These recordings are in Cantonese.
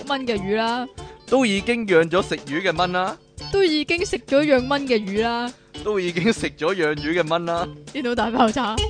蚊嘅魚啦， 都已經養咗食魚嘅蚊啦， 都已經食咗養蚊嘅魚啦， 都已經食咗養魚嘅蚊啦。 電腦大爆炸。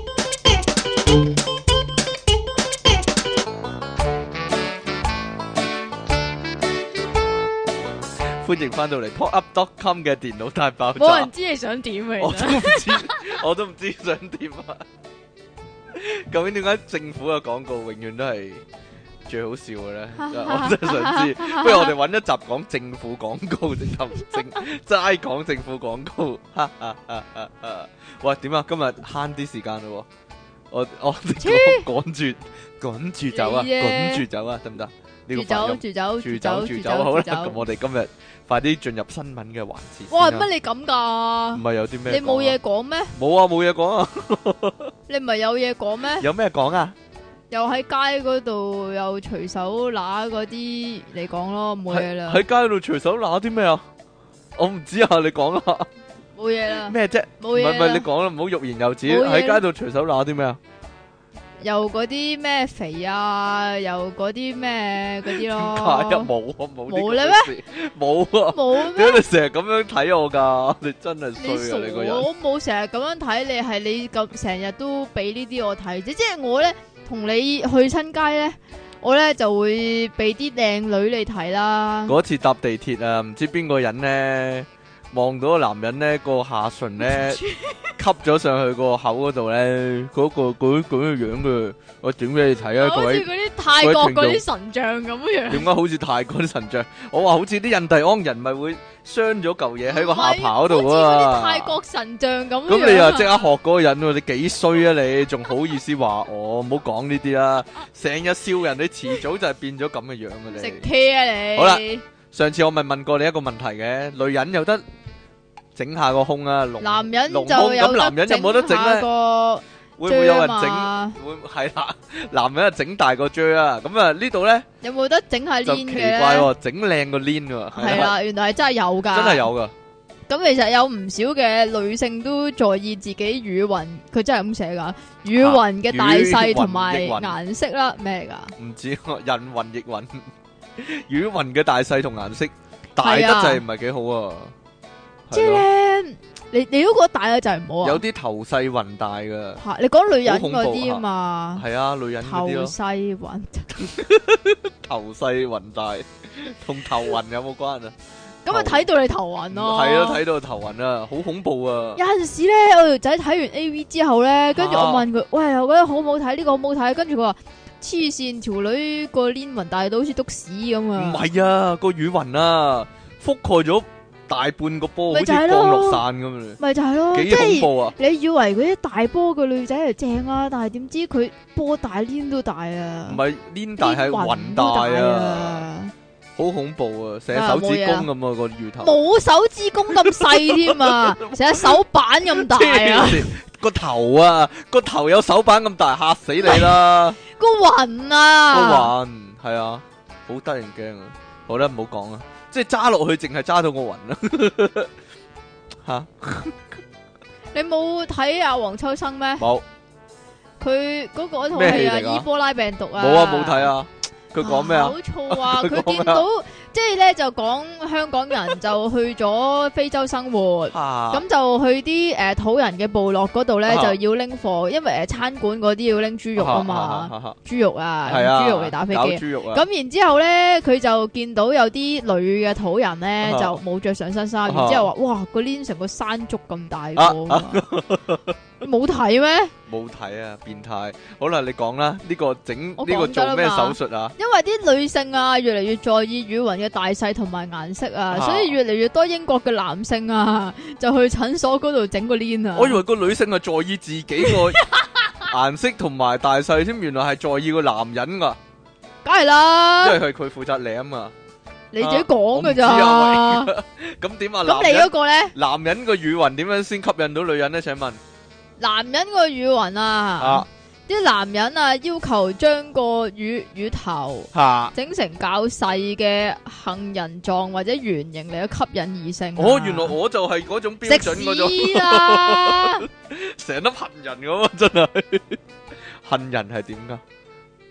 歡迎翻到嚟 popup.com 嘅電腦大爆炸冇人。知你想點啊！ 我其實都唔知，我都唔知想點啊！究竟點解政府嘅廣告永遠都係最好笑嘅咧？我真係想知。不如我哋揾一集講政府廣告，直頭齋講政府廣告。喂，點啊？今日慳啲時間咯，我哋趕住走啊，趕住走啊，得唔得？呢個發音住走好啦。咁我哋今日快啲進入新聞嘅環節。 哇，乜你咁噶？ 唔係有啲咩？ 你冇嘢講咩？ 冇啊，冇嘢講啊。 你唔係有嘢講咩？ 有咩講啊？ 又喺街嗰度又隨手拿嗰啲嚟講咯，冇嘢啦。 喺街度隨手拿啲咩啊？我唔知啊，你講啊。 冇嘢啦。 咩啫？ 冇嘢啦。 唔係你講啦，唔好欲言又止。 冇嘢啦喺街度隨手拿啲咩啊？ 又嗰啲咩肥啊，又嗰啲咩嗰啲咯。 點解啊？冇啊， 冇咧咩？ 冇啊。 冇咩？ 點解你成日咁樣睇我噶？你真係衰啊！你個人。 我冇成日咁樣睇你，係你咁成日都俾呢啲我睇啫。即係我咧同你去親街咧，我咧就會俾啲靚女你睇啦。 嗰次搭地鐵啊，唔知邊個人咧望到個男人咧個下唇咧吸咗上去個口嗰度咧，嗰個樣嘅，我整俾你睇啊！各位。 好似嗰啲泰國嗰啲神像咁樣。 點解好似泰國啲神像？我話好似啲印第安人咪會傷咗嚿嘢喺個下巴嗰度啊！ 好似嗰啲泰國神像咁樣。 咁你又即刻學嗰個人喎？你幾衰啊你？仲好意思話我？唔好講呢啲啦！成日笑人，你遲早就係變咗咁嘅樣嘅你。 食 K 啊你！ 好啦，上次我咪問過你一個問題嘅，女人有得整下個胸啊， 男人就咁有男人有冇得整咧？會唔會有人整？會係啦，男人啊整大個啫啊！咁啊呢度咧有冇得整下就 lien 奇嘅咧？ 怪喎，整靚個 lien 喎。 係啦，原來係真係有噶， 真係有噶。 咁其實有唔少嘅女性都在意自己乳暈，佢真係咁寫噶，乳暈嘅大細同埋顏色啦，咩嚟噶？ 唔知人云亦云，乳暈嘅大細同顏色大得滯唔係幾好啊！ 即係咧，你都覺得大得滯唔好啊？ 有啲頭細暈大噶吓，你講女人嗰啲啊嘛？ 係啊，女人嗰啲咯。 頭細暈， 頭細暈大，同頭暈有冇關啊？ 咁啊睇到你頭暈咯。 係啊，睇到頭暈啊，好恐怖啊！ 有陣時咧，我條仔睇完 A.V. 之後咧，跟住我問佢：喂，我覺得好唔好睇？呢個好唔好睇？跟住佢話：黐線，條女個鏈暈大到好似篤屎咁啊！ 唔係啊，個乳暈啊，覆蓋咗大半個波，好似降落傘咁啊！ 咪就係咯， 幾恐怖啊！ 你以為嗰啲大波嘅女仔係正啊，但係點知佢波大鏈都大啊！ 唔係鏈大係暈大啊！好恐怖啊！成隻手指公咁啊個乳頭， 冇手指公咁細添啊！成隻手板咁大啊！ 個頭啊，個頭有手板咁大，嚇死你啦！ 個暈啊， 個暈係啊，好得人驚啊！好啦，唔好講啦，即係揸落去淨係揸到個暈啦。吓， 你冇睇阿黃秋生咩？ 冇， 佢嗰個套戲啊，伊波拉病毒啊， 冇啊，冇睇啊。佢講咩啊？ 好燥啊！佢見到即係咧就講香港人就去咗非洲生活，咁就去啲土人嘅部落嗰度咧就要拎貨，因為餐館嗰啲要拎豬肉啊嘛，豬肉啊，用豬肉嚟打飛機。咁然之後咧，佢就見到有啲女嘅土人咧就冇着上身衫，然之後話：哇，個鏈成個山竹咁大個。冇睇咩？ 冇睇啊！變態。好啦，你講啦，呢個整呢個做咩手術啊？ 因為啲女性啊，越嚟越在意乳暈嘅大細同埋顏色啊，所以越嚟越多英國嘅男性啊，就去診所嗰度整個鏈啊。 我以為個女性係在意自己個顏色同埋大細添，原來係在意個男人噶。 梗係啦， 因為係佢負責舐啊。 你自己講噶咋？ 咁點啊？ 咁你嗰個咧？ 男人個乳暈點樣先吸引到女人咧？請問？ 男人個乳暈啊，啲男人啊要求將個乳頭整成較細嘅杏仁狀或者圓形嚟去吸引異性。 哦，原來我就係嗰種標準嗰種。 食屎啦！ 成粒杏仁咁啊，真係杏仁係點噶？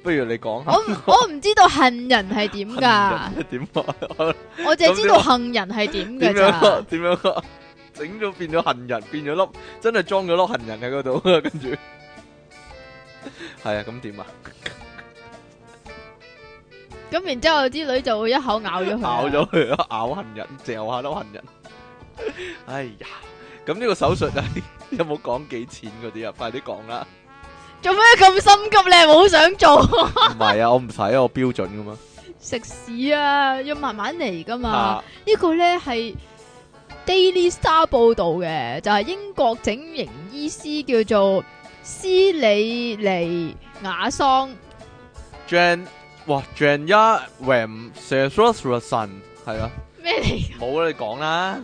不如你講下。 我唔知道恨人係點噶， 點啊？ 我淨係知道恨人係點噶咋。 點樣啊？整咗變咗恨人，變咗粒真係裝咗粒恨人喺嗰度，跟住係啊，咁點啊？ 咁然之後啲女就會一口咬咗佢， 咬咗佢，咬恨人，嚼下都恨人。哎呀，咁呢個手術啊，有冇講幾錢嗰啲啊？快啲講啦！ 做咩咁心急？你係冇想做？ 唔係啊，我唔使啊，我標準噶嘛。 食屎啊！要慢慢嚟噶嘛。 啊呢個咧係 Daily Star 報道嘅，就係英國整形醫師叫做斯里尼亞桑。 Janya Ram Sesrosan 係啊， 咩嚟？ 冇啦，你講啦。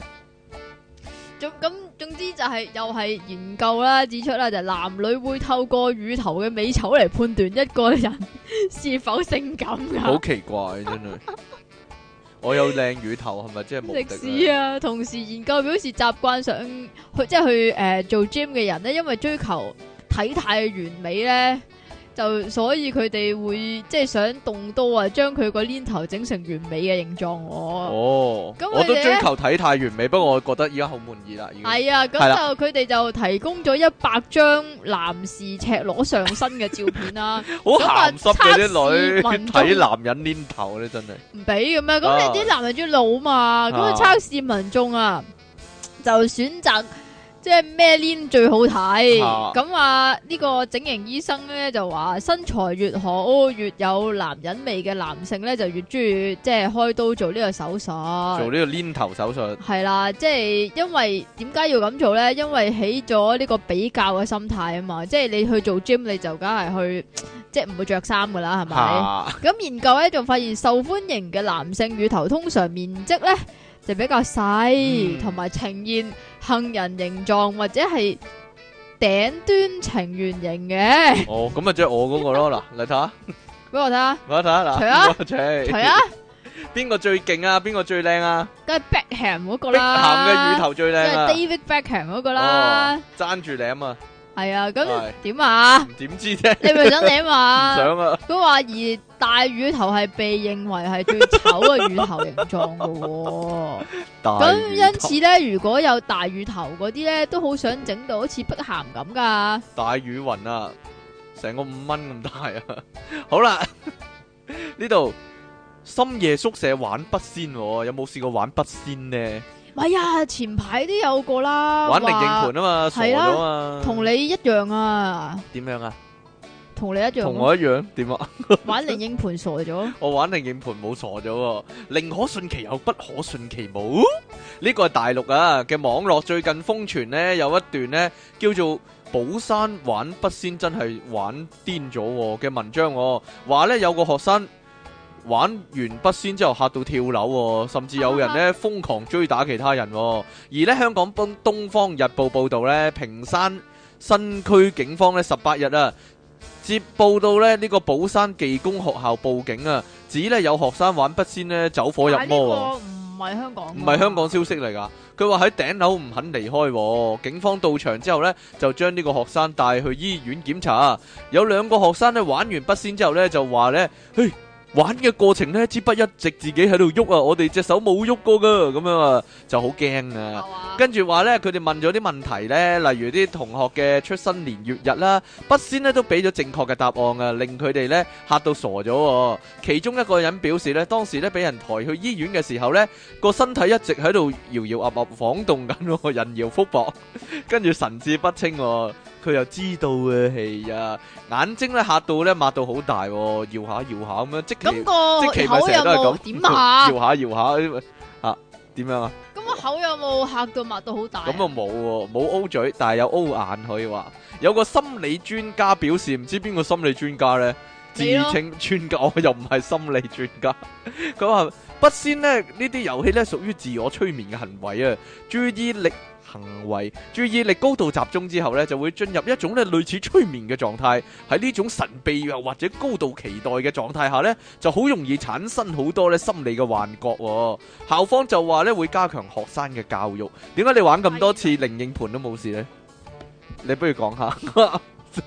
總之就係又係研究啦，指出啦，就係男女會透過乳頭嘅美醜嚟判斷一個人是否性感噶。 好奇怪真係，我有靚乳頭係咪即係無敵食屎啊！同時研究表示，習慣上去做 gym 嘅人咧，因為追求體態嘅完美咧。就所以佢哋會即係想動刀啊，將佢個鏈頭整成完美嘅形狀。 哦，我都追求體態完美，不過我覺得而家好滿意啦。 係啊，咁就佢哋就提供咗100張男士赤裸上身嘅照片啦。 好鹹濕嘅啲女睇男人鏈頭咧，真係唔俾嘅咩？咁你啲男人中意老嘛？咁啊測試民眾啊，就選擇。即係咩鏈最好睇？咁啊呢個整形醫生咧就話身材越好、越有男人味嘅男性咧就越中意即係開刀做呢個手術。 做呢個鏈頭手術係啦，即係因為點解要咁做咧？因為起咗呢個比較嘅心態啊嘛，即係你去做 gym 你就梗係去即係唔會着衫噶啦，係咪？咁研究咧就發現受歡迎嘅男性乳頭通常面積咧就比較細，同埋呈現杏仁形狀或者係頂端呈圓形嘅。 哦，咁啊即係我嗰個咯，嗱，嚟睇下， 俾我睇下， 我睇下嗱， 除啊， 除啊， 邊個最勁啊？邊個最靚啊？ 梗係 Beckham 嗰個啦， Beckham 嘅乳頭最靚啊， 即係 David Beckham 嗰個啦， 爭住舐啊！ 係啊，咁點啊？ 點知啫？ 你咪想舐嘛？ 唔想啊！ 佢話而大乳頭係被認為係最醜嘅乳頭形狀噶，咁因此咧，如果有大乳頭嗰啲咧，都好想整到好似碧咸咁噶。 大乳暈啊，成個5蚊咁大啊！好啦，呢度深夜宿舍玩筆仙，有冇試過玩筆仙呢？ 咪呀，前排都有個啦， 玩靈應盤啊嘛，傻咗嘛， 同你一樣啊？ 點樣啊？ 同你一樣， 同我一樣點啊？ 玩靈應盤傻咗， 我玩靈應盤冇傻咗，寧可信其有，不可信其無。呢個係大陸啊嘅網絡最近瘋傳呢，有一段呢叫做寶山玩筆仙真係玩癲咗嘅文章，話呢有個學生。玩完筆仙之後嚇到跳樓，甚至有人呢瘋狂追打其他人。而呢香港東方日報報道呢，屏山新區警方呢18日啊接報到呢個寶山技工學校報警啊，指呢有學生玩筆仙呢走火入魔。 唔係香港， 唔係香港消息嚟㗎。佢話喺頂樓唔肯離開，警方到場之後呢，就將呢個學生帶去醫院檢查。有2個學生呢玩完筆仙之後呢，就話呢，嘿。玩嘅過程呢，支筆一直自己喺度喐啊，我哋隻手冇喐過噶，咁樣啊就好驚啊。跟住話呢，佢哋問咗啲問題呢，例如啲同學嘅出生年月日啦，筆仙呢都俾咗正確嘅答案啊，令佢哋呢嚇到傻咗。其中一個人表示呢，當時呢俾人抬去醫院嘅時候呢，個身體一直喺度搖搖噏噏晃動緊，人搖福薄，跟住神志不清。佢又知道嘅係啊，眼睛咧嚇到咧擘到好大，搖下搖下咁樣，即其咪成日都係咁點啊？ 搖下搖下啊，點樣啊？ 咁個口有冇嚇到擘到好大？ 咁啊冇喎，冇 O 嘴，但係有 O 眼可以話。有個心理專家表示，唔知邊個心理專家咧，自稱專家，我又唔係心理專家。佢話筆仙咧呢啲遊戲咧屬於自我催眠嘅行為啊，注意力高度集中之後呢，就會進入一種咧類似催眠嘅狀態。喺呢種神秘又或者高度期待嘅狀態下呢，就好容易產生好多咧心理嘅幻覺。校方就話咧會加強學生嘅教育。點解你玩咁多次靈應盤都冇事呢？你不如講下。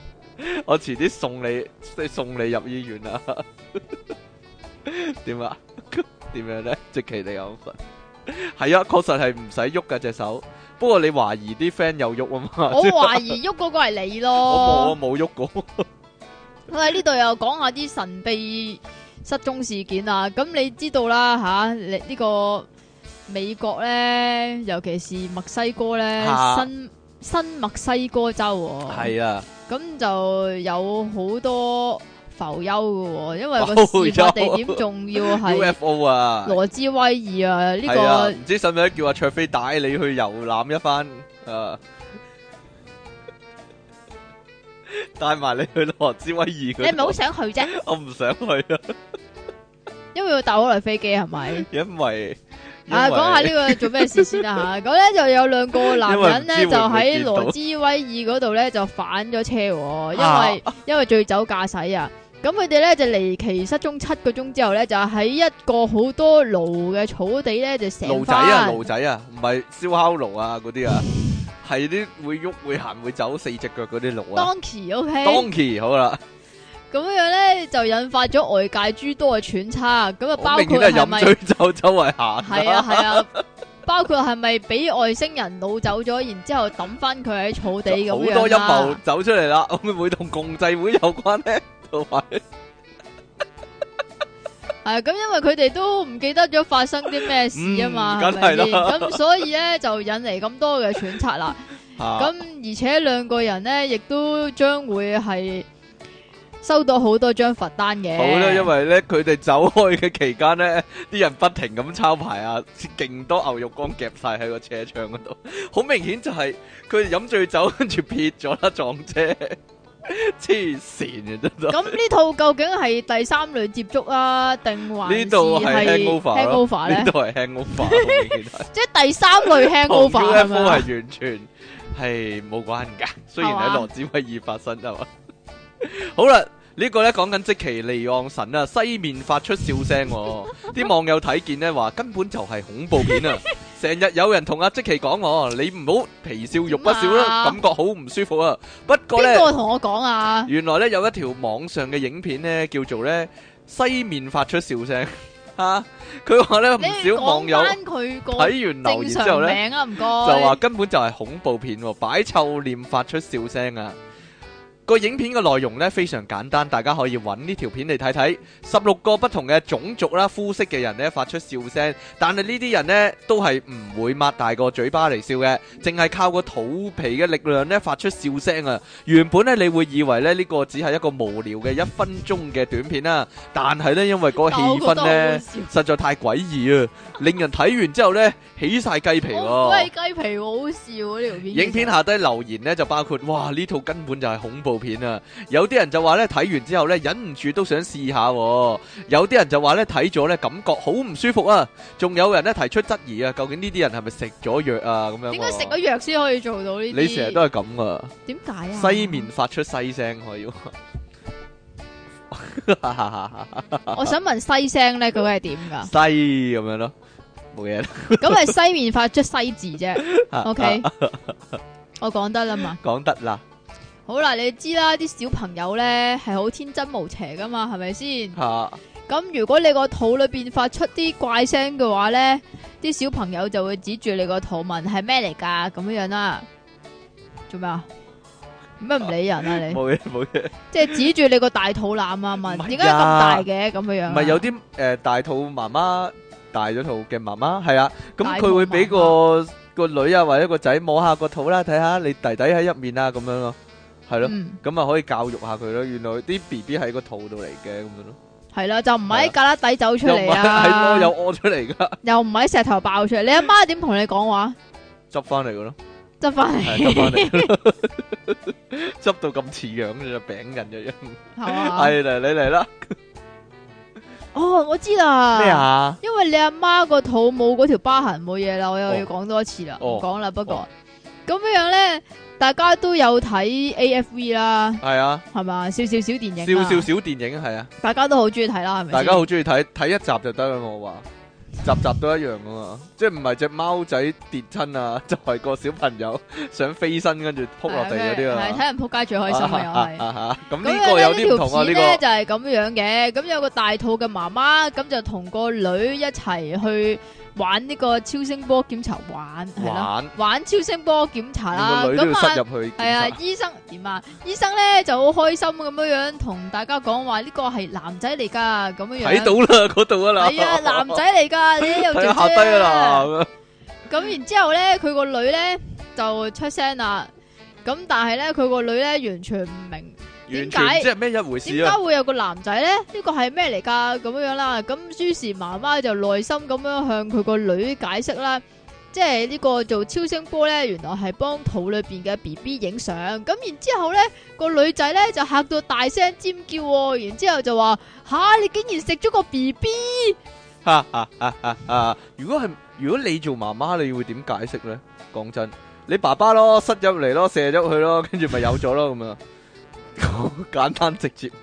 我遲啲送你入醫院啊！點啊？點樣咧？積淇離岸神係啊，確實係唔使喐噶隻手。不過你懷疑啲 friend 有喐啊嘛？ 我懷疑喐嗰個係你咯。 我冇喐過。 我喺呢度又講下啲神秘失蹤事件啊！咁你知道啦吓，你呢個美國咧，尤其是墨西哥咧，新墨西哥州係啊， 咁就有好多浮丘嘅，因為個事發地點仲要係 UFO 啊， 羅茲威爾啊，呢個唔知使唔使叫阿卓飛帶你去遊覽一番啊？帶埋你去羅茲威爾，你係咪好想去啫？ 我唔想去啊， 因為要搭好耐飛機係咪？ 因為講下呢個做咩事先啦吓，咁咧就有兩個男人咧就喺羅茲威爾嗰度咧就反咗車，因為醉酒駕駛啊。咁佢哋咧就離奇失蹤7個鐘之後咧，就喺一個好多爐嘅草地咧就醒翻。 爐仔啊，唔係燒烤爐啊嗰啲啊，係啲會喐會行會走4隻腳嗰啲爐啊。Donkey 好啦。 咁樣咧就引發咗外界諸多嘅揣測，咁啊包括係咪飲醉酒周圍行？ 係啊，包括係咪俾外星人擄走咗，然之後抌翻佢喺草地咁樣啦？好多陰謀走出嚟啦，會唔會同共濟會有關咧？同埋係咁，因為佢哋都唔記得咗發生啲咩事啊嘛， 梗係啦。 咁所以咧就引嚟咁多嘅揣測啦。咁而且兩個人咧亦都將會係收到好多張罰單嘅。好啦， 因為咧佢哋走開嘅期間咧，啲人不停咁抄牌啊，勁多牛肉乾夾晒喺個車窗嗰度，好明顯就係佢哋飲醉酒跟住撇咗啦撞車，黐線嘅真係。 咁呢套究竟係第三類接觸啊，定還是呢度係 hangover 咧？呢度係 hangover， 即係第三類 hangover 係咪？ 係完全係冇關噶，雖然喺羅茲威爾發生係嘛。好啦，呢個咧講緊積淇離岸神啊，西面發出笑聲，啲網友睇見咧話根本就係恐怖片啊！成日有人同阿積淇講你唔好皮笑肉不笑啦，感覺好唔舒服啊！不過咧， 邊個同我講啊？ 原來咧有一條網上嘅影片咧叫做咧西面發出笑聲啊！佢話咧唔少網友睇完留言之後咧，就話根本就係恐怖片，擺臭臉發出笑聲啊！個影片嘅內容咧非常簡單，大家可以揾呢條片嚟睇睇。16個不同嘅種族啦、膚色嘅人咧發出笑聲，但係呢啲人呢都係唔會擘大個嘴巴嚟笑嘅，淨係靠個肚皮嘅力量咧發出笑聲啊！原本咧你會以為咧呢個只係一個無聊嘅1分鐘嘅短片啦，但係咧因為嗰個氣氛咧實在太詭異啊，令人睇完之後咧起晒雞皮喎。 雞皮好笑啊！呢條片。 影片下低留言咧就包括哇呢套根本就係恐怖片啊！有啲人就話咧睇完之後咧忍唔住都想試下，有啲人就話咧睇咗咧感覺好唔舒服啊！仲有人咧提出質疑啊，究竟呢啲人係咪食咗藥啊？咁樣點解食咗藥先可以做到呢啲？ 你成日都係咁啊？點解啊？ 西面發出西聲可以。 我想問西聲咧，嗰個係點噶？ 西咁樣咯，冇嘢啦。 咁係西面發出西字啫。OK，我講得啦嘛。 講得啦。 好啦，你知啦，啲小朋友咧係好天真無邪噶嘛，係咪先？咁如果你個肚裏邊發出啲怪聲嘅話咧，啲小朋友就會指住你個肚問係咩嚟噶，咁樣樣啦。做咩啊？咩唔理人啊你？冇嘢冇嘢。即係指住你個大肚腩啊問，點解咁大嘅咁樣樣？唔係有啲大肚媽媽大咗肚嘅媽媽係啊，咁佢會俾個女啊或者個仔摸下個肚啦，睇下你弟弟喺入面啊咁樣咯。係咯，咁啊可以教育下佢咯。原來啲 BB 喺個肚度嚟嘅咁樣咯。係啦，就唔喺旮旯底走出嚟啊，係屙有屙出嚟噶，又唔喺石頭爆出嚟。你阿媽點同你講話？執翻嚟噶咯，執翻嚟，執翻嚟，執到咁似樣嘅餅人嘅樣。係嘛？係嚟，你嚟啦。哦，我知啦。咩啊？因為你阿媽個肚冇嗰條疤痕，冇嘢啦。我又要講多一次啦，唔講啦。不過咁樣咧。大家都有睇 AFV 啦，係啊，係嘛，少少小電影，少少小電影係啊，大家都好中意睇啦，係咪？大家好中意睇，睇一集就得啦，我話集都一樣噶嘛，即係唔係隻貓仔跌親啊，就係個小朋友想飛身跟住撲落地嗰啲啊。 係睇人撲街最開心啊，又係。 咁呢個有啲唔同啊，呢個咧就係咁樣嘅。咁有個大肚嘅媽媽，咁就同個女一齊去玩呢個超聲波檢查，玩超聲波檢查啦。 個女都要塞入去。 係啊，醫生點啊？醫生咧就好開心咁樣同大家講話呢個係男仔嚟噶，咁樣睇到啦，嗰度啊啦。 係啊，男仔嚟噶，你又睇下低啊啦。 咁然之後咧，佢個女咧就出聲啦。咁但係咧，佢個女咧完全唔明。 完全即係咩一回事啊？ 點解會有個男仔咧？呢個係咩嚟㗎？咁樣啦，咁於是媽媽就耐心咁樣向佢個女解釋啦，即係呢個做超聲波咧，原來係幫肚裏邊嘅 BB 影相。咁然之後咧，個女仔咧就嚇到大聲尖叫喎，然之後就話：吓，你竟然食咗個 BB！ 如果你做媽媽，你會點解釋咧？講真，你爸爸咯，塞入嚟咯，射咗佢咯，跟住咪有咗咯咁啊！簡單直接，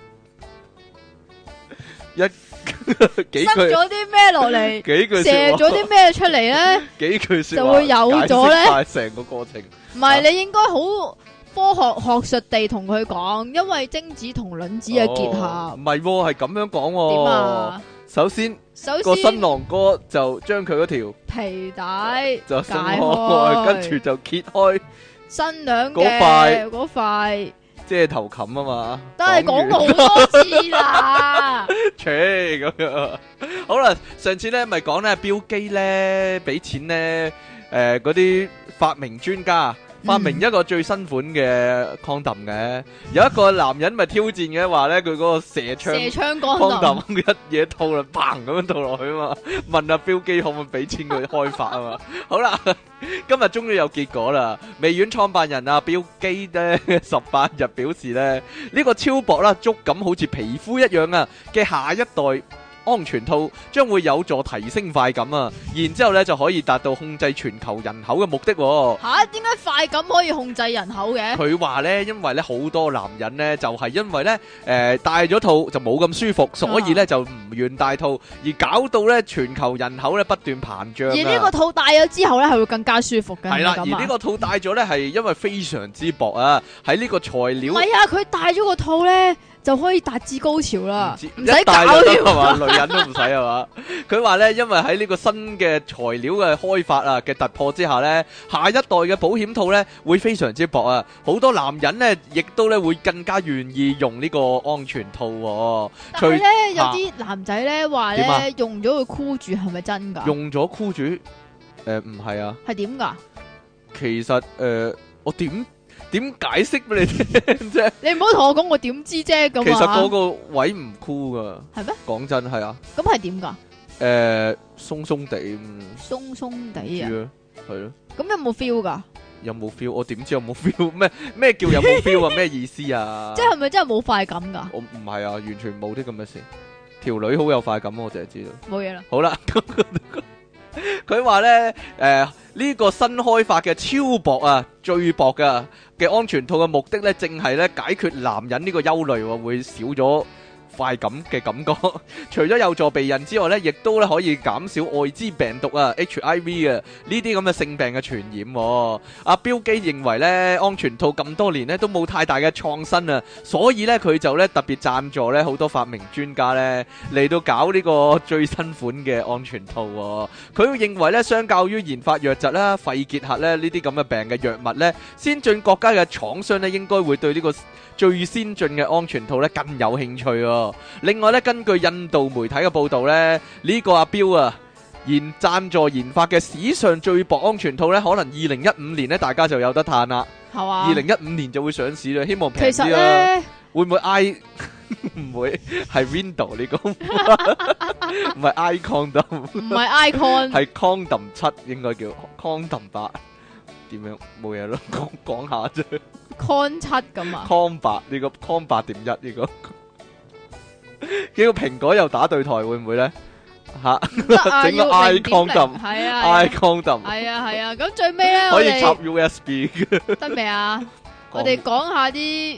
幾句塞咗啲咩落嚟？ 幾句射咗啲咩出嚟咧？ 幾句說話就會有咗咧？ 成個過程唔係你應該好科學術地同佢講，因為精子同卵子嘅結合。 唔係，係咁樣講。 點啊？ 首先個新郎哥就將佢嗰條皮帶就鬆開，跟住就揭開新娘嘅嗰塊。 遮頭冚啊嘛， 都係講過好多次啦。 切咁樣，好啦，上次咧咪講咧，標機咧俾錢咧，嗰啲發明專家發明一個最新款嘅 condom 嘅，有一個男人咪挑戰嘅話咧，佢嗰個射槍 condom 一嘢套啦，砰咁樣套落去啊嘛，問阿標機可唔可以俾錢佢開發啊嘛，好啦。今日終於有結果啦！微軟創辦人啊，標基咧18日表示咧，呢個超薄啦，觸感好似皮膚一樣啊嘅下一代安全套將會有助提升快感啊，然之後咧就可以達到控制全球人口嘅目的。 吓，點解快感可以控制人口嘅？ 佢話咧，因為咧好多男人咧就係因為咧戴咗套就冇咁舒服，所以咧就唔願戴套，而搞到咧全球人口咧不斷膨脹。 而呢個套戴咗之後咧係會更加舒服嘅。 係啦，而呢個套戴咗咧係因為非常之薄啊，喺呢個材料。 唔係啊，佢戴咗個套咧。就可以達至高潮啦，唔使搞係嘛，女人都唔使係嘛。佢話咧，因為喺呢個新嘅材料嘅開發啊嘅突破之下咧，下一代嘅保險套咧會非常之薄啊，好多男人咧亦都咧會更加願意用呢個安全套。 但係咧有啲男仔咧話咧用咗佢箍住係咪真噶？ 用咗箍住？唔係啊。係點噶？其實我點解釋俾你聽啫？你唔好同我講我點知啫咁啊！其實嗰個位唔酷噶，係咩？講真係啊。咁係點噶？鬆鬆地，鬆鬆地啊，係咯。咁有冇 feel 噶？有冇 feel？我點知有冇 feel？咩叫有冇 feel 啊？咩意思啊？即係咪真係冇快感噶？我唔係啊，完全冇啲咁嘅事。條女好有快感，我淨係知道。冇嘢啦。好啦。佢話咧，呢個新開發嘅超薄啊，最薄嘅安全套嘅目的咧，正係咧解決男人呢個憂慮，會少咗快感嘅感覺。除咗有助避孕之外咧，亦都咧可以減少艾滋病毒啊 HIV 啊呢啲咁嘅性病嘅傳染。阿標基認為咧，安全套咁多年咧都冇太大嘅創新啊，所以咧佢就咧特別贊助咧好多發明專家咧嚟到搞呢個最新款嘅安全套。佢認為咧，相較於研發瘧疾啦、肺結核咧呢啲咁嘅病嘅藥物咧，先進國家嘅廠商咧應該會對呢個最先進嘅安全套咧更有興趣。另外咧，根據印度媒體嘅報道咧，呢個阿標啊贊助研發嘅史上最薄安全套咧，可能2015年咧大家就有得嘆啦。係嘛？2015年就會上市啦，希望平啲啦。會唔會 唔會係 Window 呢個？唔係 Icon， 唔係 Icon， 係 Condom 7應該叫 Condom 8。點樣？冇嘢咯，講下啫。Con 7咁啊？Con 8呢個 Con 8.1呢個。幾個蘋果又打對台會唔會咧？吓，整個 Icon 係啊 ，Icon 係啊，咁最尾咧可以插 USB 得未啊？我哋講下啲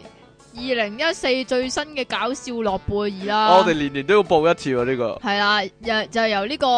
2014最新嘅搞笑諾貝爾啦。我哋年年都要報一次喎，呢個係啦，就由呢個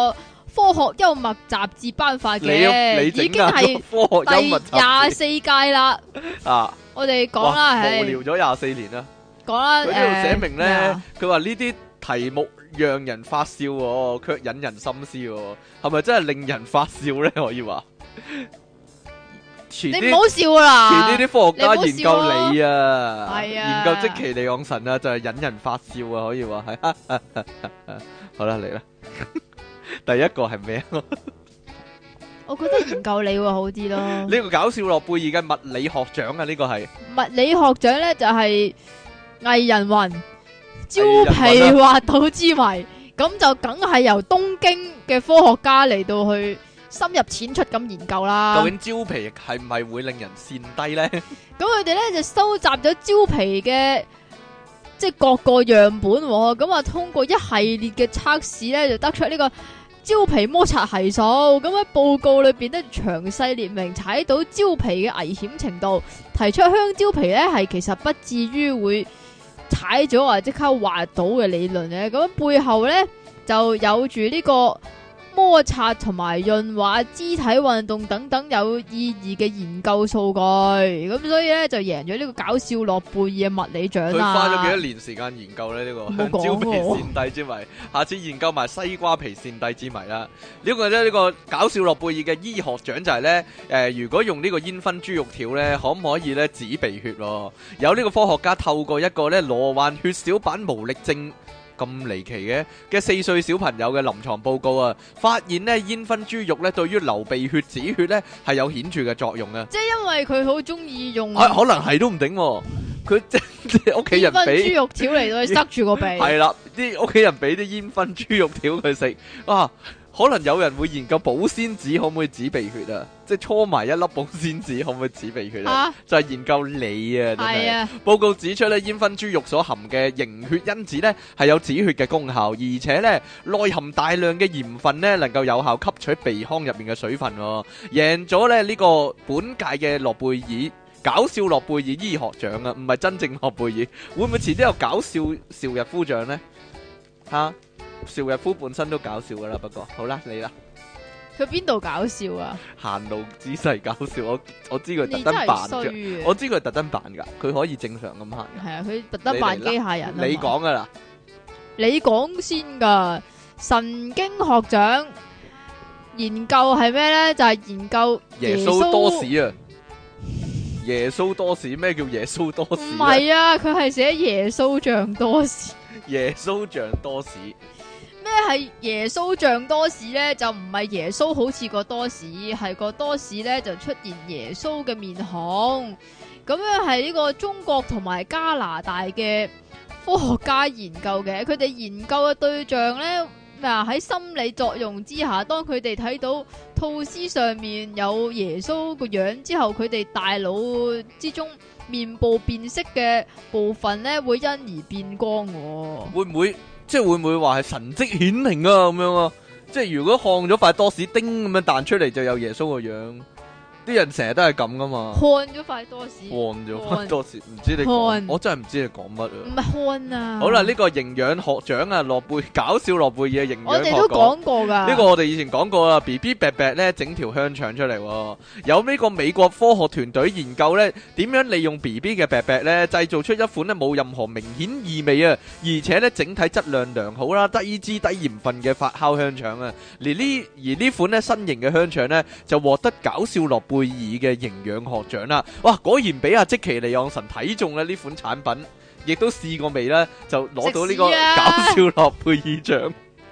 科學幽默雜誌頒發嘅，已經係科學幽默第24屆啦。 啊， 我哋講啦， 無聊咗24年啦。 講啦， 佢呢度寫明咧，佢話呢啲題目讓人發笑喎，卻引人深思喎，係咪真係令人發笑咧？可以話。 你唔好笑啦！ 遲啲啲科學家研究你啊， 係啊， 研究積淇離岸神啊，就係引人發笑啊，可以話係。好啦，嚟啦，第一個係咩啊？ 我覺得研究你會好啲咯。 呢個搞笑諾貝爾嘅物理學獎啊，呢個係物理學獎咧，就係藝人雲蕉皮滑倒之謎，咁就梗係由東京嘅科學家嚟到去深入淺出咁研究啦。 究竟蕉皮係唔係會令人跣低咧？ 咁佢哋咧就收集咗蕉皮嘅即係各個樣本，咁啊通過一系列嘅測試咧，就得出呢個蕉皮摩擦係數。咁喺報告裏邊咧詳細列明踩到蕉皮嘅危險程度，提出香蕉皮咧係其實不至於會踩咗或即刻滑倒嘅理論嘅。咁背後咧就有住呢個摩擦同埋潤滑、肢體運動等等有意義嘅研究數據，咁所以咧就贏咗呢個搞笑諾貝爾嘅物理獎啦。 佢花咗幾多年時間研究咧？呢個香蕉皮跣低之謎，下次研究埋西瓜皮跣低之謎啦。呢個咧呢個搞笑諾貝爾嘅醫學獎就係咧如果用呢個煙燻豬肉條咧，可唔可以咧止鼻血？有呢個科學家透過一個咧羅患血小板無力症咁離奇嘅4歲小朋友嘅臨床報告啊，發現咧煙燻豬肉咧對於流鼻血止血咧係有顯著嘅作用啊！ 即係因為佢好中意用， 可能係都唔定，佢即係屋企人俾煙燻豬肉條嚟到去塞住個鼻， 係啦，啲屋企人俾啲煙燻豬肉條佢食啊！可能有人會研究保鮮紙可唔可以止鼻血啊？即係搓埋一粒保鮮紙可唔可以止鼻血啊？就係研究你啊！真係報告指出咧，煙燻豬肉所含嘅凝血因子咧係有止血嘅功效，而且咧內含大量嘅鹽分咧，能夠有效吸取鼻腔入面嘅水分，贏咗咧呢個本屆嘅諾貝爾搞笑諾貝爾醫學獎啊！唔係真正諾貝爾，會唔會遲啲有搞笑邵逸夫獎咧？嚇！邵逸夫本身都搞笑噶啦，不過好啦，你啦。 佢邊度搞笑啊？ 行路姿勢搞笑，我知佢特登扮嘅，我知佢特登扮噶，佢可以正常咁行。 係啊，佢特登扮機械人。 你講噶啦， 你講先噶。神經學獎研究係咩咧？就係研究耶穌多士啊！耶穌多士，咩叫耶穌多士？ 唔係啊，佢係寫耶穌像多士。 耶穌像多士， 咩係耶穌像多士咧？就唔係耶穌好似個多士，係個多士咧就出現耶穌嘅面孔。咁樣係呢個中國同埋加拿大嘅科學家研究嘅，佢哋研究嘅對象咧喺心理作用之下，當佢哋睇到吐司上面有耶穌個樣之後，佢哋大腦之中面部辨識嘅部分咧會因而變光。 會唔會即係會唔會話係神蹟顯靈啊？咁樣啊，即係如果看咗塊多士叮咁樣彈出嚟，就有耶穌個樣。啲人成日都係咁噶嘛，看咗塊多士， 看咗塊多士，唔知你講，我真係唔知你講乜啊！ 唔係看啊！ 好啦，呢個營養學獎啊，搞笑諾貝爾嘅營養學獎， 我哋都講過噶。 呢個我哋以前講過啦 ，BB 伯伯咧整條香腸出嚟，有呢個美國科學團隊研究咧，點樣利用 BB 嘅伯伯咧製造出一款咧冇任何明顯異味啊，而且咧整體質量良好啦，低脂低鹽分嘅發酵香腸啊，而呢款咧新型嘅香腸咧就獲得搞笑諾貝爾嘅營養學獎啦！哇，果然俾阿積淇離岸神睇中咧呢款產品，亦都試過未咧，就攞到呢個搞笑諾貝爾獎。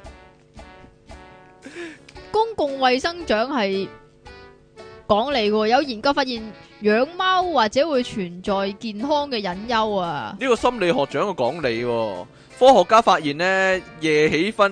公共衛生獎係講嚟嘅，有研究發現養貓或者會存在健康嘅隱憂啊！ 呢個心理學獎嘅講理，科學家發現咧夜瞓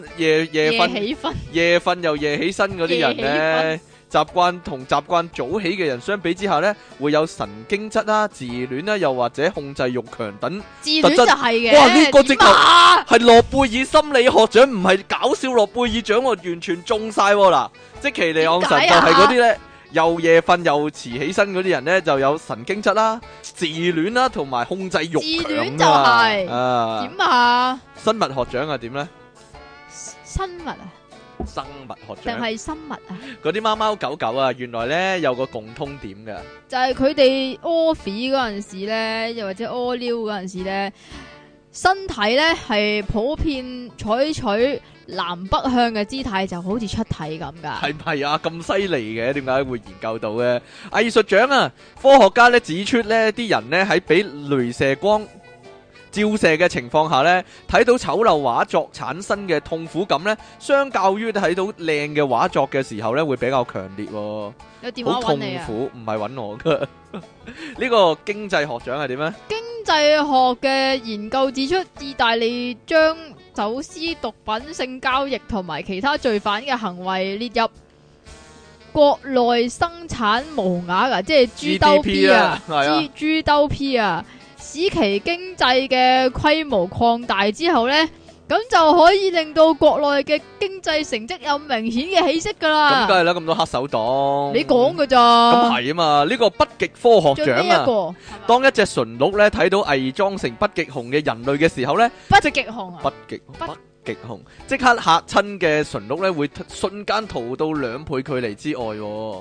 又夜起身嗰啲人咧。習慣早起嘅人相比之下呢，會有神經質啦、自戀啦，又或者控制欲強等自戀就係嘅。 哇！呢個直頭係諾貝爾心理學獎，唔係搞笑諾貝爾獎，我完全中晒嗱。積淇離岸神就係嗰啲呢，又夜瞓又遲起身嗰啲人呢，就有神經質啦、自戀啦，同埋控制欲強。 自戀就係點啊？ 生物學獎係點呢？ 生物啊？ 生物學定獎。 係生物啊？ 嗰啲貓貓狗狗啊，原來咧有個共通點嘅， 就係佢哋屙屎嗰陣時咧，又或者屙尿嗰陣時咧，身體咧係普遍採取南北向嘅姿態，就好似出體咁噶。 係唔係啊？咁犀利嘅，點解會研究到嘅？藝術獎啊，科學家咧指出咧，啲人咧喺俾雷射光照射嘅情況下呢，睇到醜陋畫作產生嘅痛苦感呢，相較於睇到靚嘅畫作嘅時候呢，會比較強烈喎。 有電話好痛揾你啊！ 苦，唔係揾我噶。呢個經濟學獎係點呢？ 經濟學嘅研究指出，意大利將走私毒品、性交易同埋其他罪犯嘅行為列入國內生產毛額啊，即係豬兜 P 啊，豬兜 P 啊。使其經濟嘅規模擴大之後呢，咁就可以令到國內嘅經濟成績有明顯嘅起色噶啦。 咁梗係啦，咁多黑手黨， 你講噶咋？ 咁係啊嘛，呢個北極科學獎啊，當一隻馴鹿咧睇到偽裝成北極熊嘅人類嘅時候呢， 北極熊啊， 北極熊即刻嚇親嘅馴鹿咧會瞬間逃到2倍距離之外，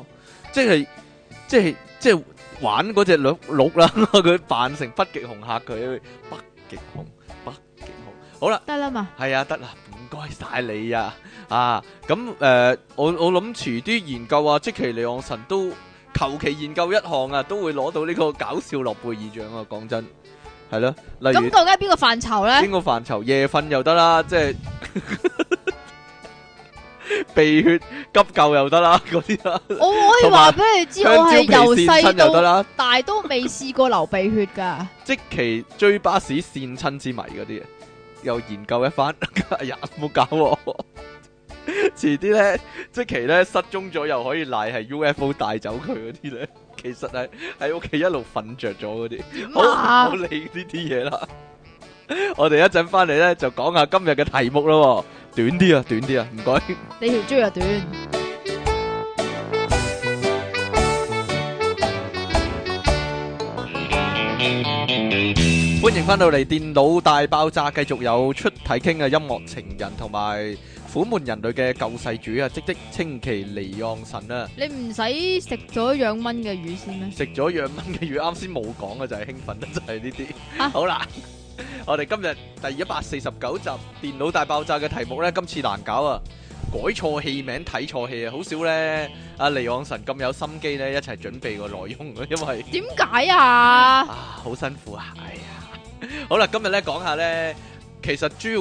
即係玩嗰隻鹿啦，佢扮成北極熊嚇佢，北極熊。好啦， 得啦嘛， 係啊，得啦，唔該晒你啊，咁我諗遲啲研究啊，積淇離岸神都求其研究一項啊，都會攞到呢個搞笑諾貝爾獎啊，講真，係咯，例如咁究竟係邊個範疇咧？ 邊個範疇？夜瞓又得啦，即係鼻血急救又得啦，嗰啲啦。 我可以話俾你知，我係由細到大都未試過流鼻血噶。 積淇追巴士跣親之謎嗰啲，又研究一番。哎呀，唔好搞我。遲啲咧，積淇咧失蹤咗，又可以賴係 UFO 帶走佢嗰啲咧，其實係喺屋企一路瞓着咗嗰啲。好，唔好理呢啲嘢啦。我哋一陣翻嚟咧，就講下今日嘅題目咯。短啲啊，短啲啊，唔該。 你條豬又短。 歡迎翻到嚟電腦大爆炸，繼續有出體 king嘅音樂情人同埋苦悶人類嘅救世主啊，即積淇離岸神啊！ 你唔使食咗養蚊嘅魚先咩？ 食咗養蚊嘅魚，啱先冇講嘅就係興奮得就係呢啲。好啦。我哋今日第149集電腦大爆炸嘅題目呢，今次難搞啊！改錯戲名睇錯戲啊，好少呢。阿離岸神咁有心機呢，一齊準備個內容啊，因為點解啊？ 好辛苦啊！哎呀，好啦，今日呢講下呢，其實主要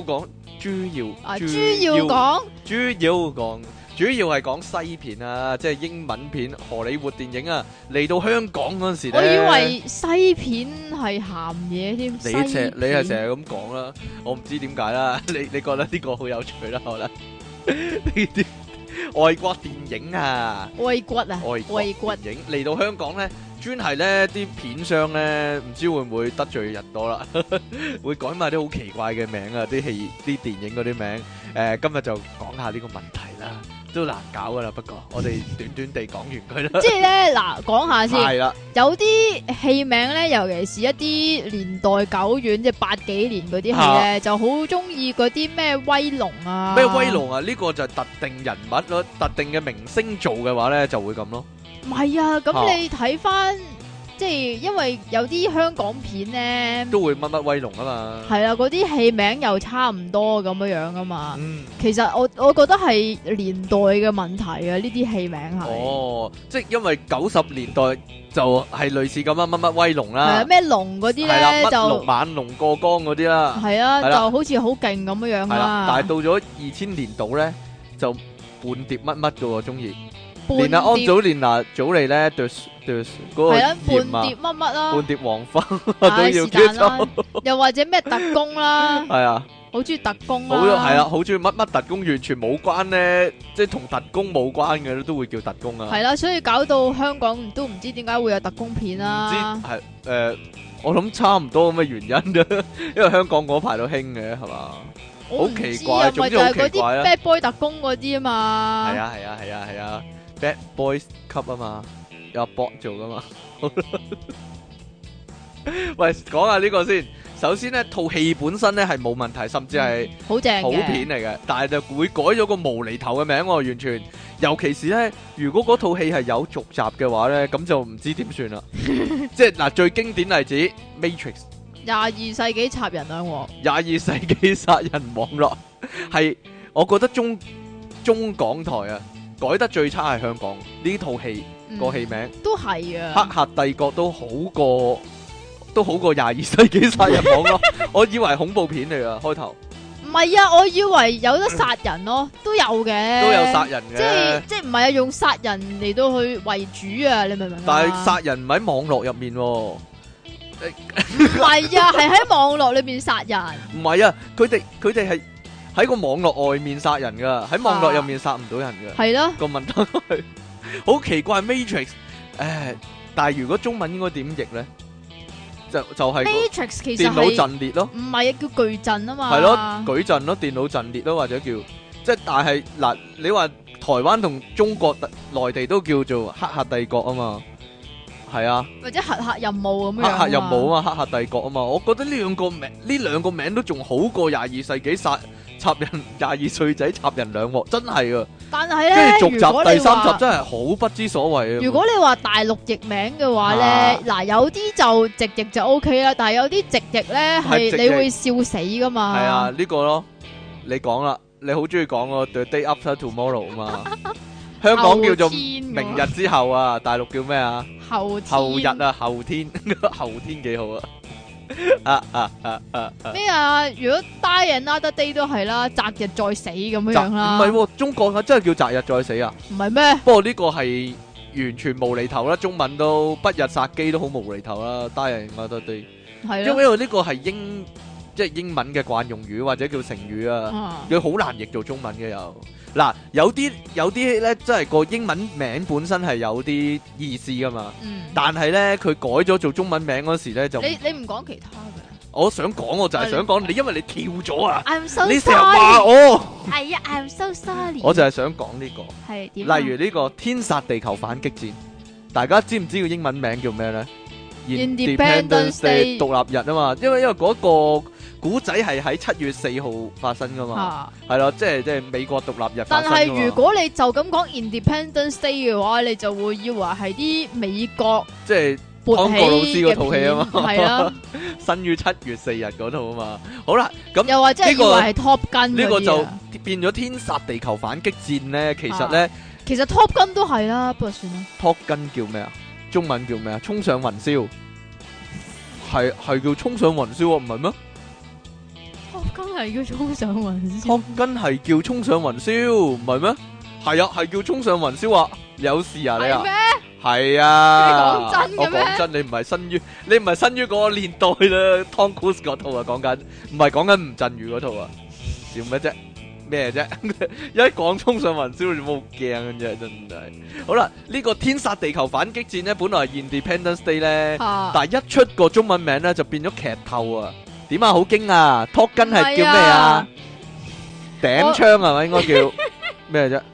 係講西片啊，即係英文片、荷里活電影啊，嚟到香港嗰陣時咧， 我以為西片係鹹嘢添。你係成日咁講啦，我唔知點解啦。你覺得呢個好有趣啦，可能呢啲外國電影啊，外國電影嚟到香港咧，專係咧啲片商咧，唔知會唔會得罪人多啦，會改埋啲好奇怪嘅名啊，啲電影嗰啲名。今日就講下呢個問題啦。都難搞噶啦，不過我哋短短地講完佢啦。即係咧，嗱，講下先。係啦， 有啲戲名咧，尤其是一啲年代久遠，即係80幾年嗰啲戲咧，就好中意嗰啲咩威龍啊。 咩威龍啊？呢個就係特定人物咯，特定嘅明星做嘅話咧，就會咁咯。 唔係啊，咁你睇翻。即係因為有啲香港片咧，都會乜威龍啊嘛， 係啊，嗰啲戲名又差唔多咁樣樣啊嘛。其實我覺得係年代嘅問題啊，呢啲戲名係。哦， 即係因為90年代就係類似咁啊，乜威龍啦， 係啊，咩龍嗰啲咧就乜猛龍過江嗰啲啦， 係啊，就好似好勁咁樣樣啦。 但係到咗2000年度咧，就半碟乜噶喎，中意。連阿安祖蓮娜祖莉咧，嗰個係啊，半碟乜乜啦， 半碟黃花都要接受， 又或者咩特工啦， 係啊， 好中意特工啦， 係啊，好中意乜乜特工，完全冇關咧，即係同特工冇關嘅都會叫特工啊。 係啦，所以搞到香港都唔知點解會有特工片啦。 唔知係我諗差唔多咁嘅原因啫，因為香港嗰排都興嘅係嘛，好奇怪，總之好奇怪啦。 Bad Boy 特工嗰啲啊嘛， 係啊。Bad Boys 級啊嘛，有阿博做噶嘛。喂，講下呢個先， 首先呢套戲本身呢係冇問題，甚至係好正好片嚟嘅，但係就會改咗個無厘頭嘅名喎，完全。尤其是呢，如果嗰套戲係有續集嘅話呢，咁就唔知點算啦。即係嗱，最經典例子 Matrix 22世紀插人兩鑊 22世紀殺人網絡係，我覺得中港台啊改得最差係香港呢套戲個戲名， 都係啊， 黑客帝國都好過22世紀殺人網絡。我以為恐怖片嚟㗎開頭。 唔係啊，我以為有得殺人咯，都有嘅， 都有殺人嘅， 即係唔係啊？用殺人嚟到去為主啊？你明唔明啊？ 但係殺人唔喺網絡入面喎， 唔係啊，係喺網絡裏邊殺人。 唔係啊，佢哋係喺個網絡外面殺人噶，喺網絡入面殺唔到人噶。係咯，個問題係好奇怪 Matrix， 但係如果中文應該點譯咧？就係 Matrix 其實電腦陣列咯， 唔係啊，叫矩陣啊嘛。 係咯，矩陣咯，電腦陣列咯，或者叫即係，但係嗱，你話台灣同中國內地都叫做黑客帝國啊嘛，係啊， 或者黑客任務咁樣。 黑客任務啊嘛，黑客帝國啊嘛，我覺得呢兩個名都仲好過22世紀插人22歲仔插人兩鑊，真係啊！ 但係咧， 跟住續集第三集真係好不知所謂啊！ 如果你話大陸譯名嘅話咧，嗱有啲就直譯就 OK 啦，但係有啲直譯咧係你會笑死噶嘛。係啊，呢個咯，你講啦，你好中意講個 The Day After Tomorrow 啊嘛，香港叫做明日之後啊，大陸叫咩啊？後日啊，後天後天幾好啊！ 咩啊？如果 Die Another Day 都係啦，擇日再死咁樣啦。 唔係，中國啊真係叫擇日再死啊？ 唔係咩？ 不過呢個係完全無厘頭啦，中文都不日殺機都好無厘頭啦。Die Another Day 係因為呢個係即係英文嘅慣用語或者叫成語啊，佢好難譯做中文嘅又。嗱，有啲咧，真係個英文名本身係有啲意思噶嘛，但係咧佢改咗做中文名嗰時咧就你唔講其他嘅， 我想講我就係想講你，因為你跳咗啊， so 你成日話我係啊 I'm so sorry， 我就係想講呢個係點， 例如呢個天殺地球反擊戰，大家知唔知個英文名叫咩咧？Independence Day 獨立日啊嘛，因為嗰個古仔係喺7月4號發生噶嘛，係咯，即係美國獨立日發生。但係如果你就咁講 Independence Day 嘅話，你就會以為係啲美國即係湯國老師嗰套戲啊嘛， 係啊， 生於7月4日嗰套啊嘛。好啦，咁又或者以為係 Top Gun 呢個就變咗天殺地球反擊戰咧。其實咧， 其實 Top Gun 都係啦，不過算啦。 Top Gun 叫咩啊？中文叫咩啊？衝上雲霄，係叫衝上雲霄啊？唔係咩 ？Top Gun 係叫衝上雲霄。 Top Gun 係叫衝上雲霄，唔係咩？係啊，係叫衝上雲霄啊！有事啊你啊？ 係咩？ 係啊！ 你講真嘅咩？ 我講真，你唔係生於嗰個年代啦。Tom Cruise 嗰套啊，講緊唔係講緊吳鎮宇嗰套啊？笑咩啫？咩啫？一講衝上雲霄，你冇驚嘅啫，真係。好啦，呢個天殺地球反擊戰咧，本來係 Independence Day 咧，但係一出個中文名咧，就變咗劇透啊！點啊？好驚啊！Top Gun係叫咩啊？頂槍係咪應該叫咩啫？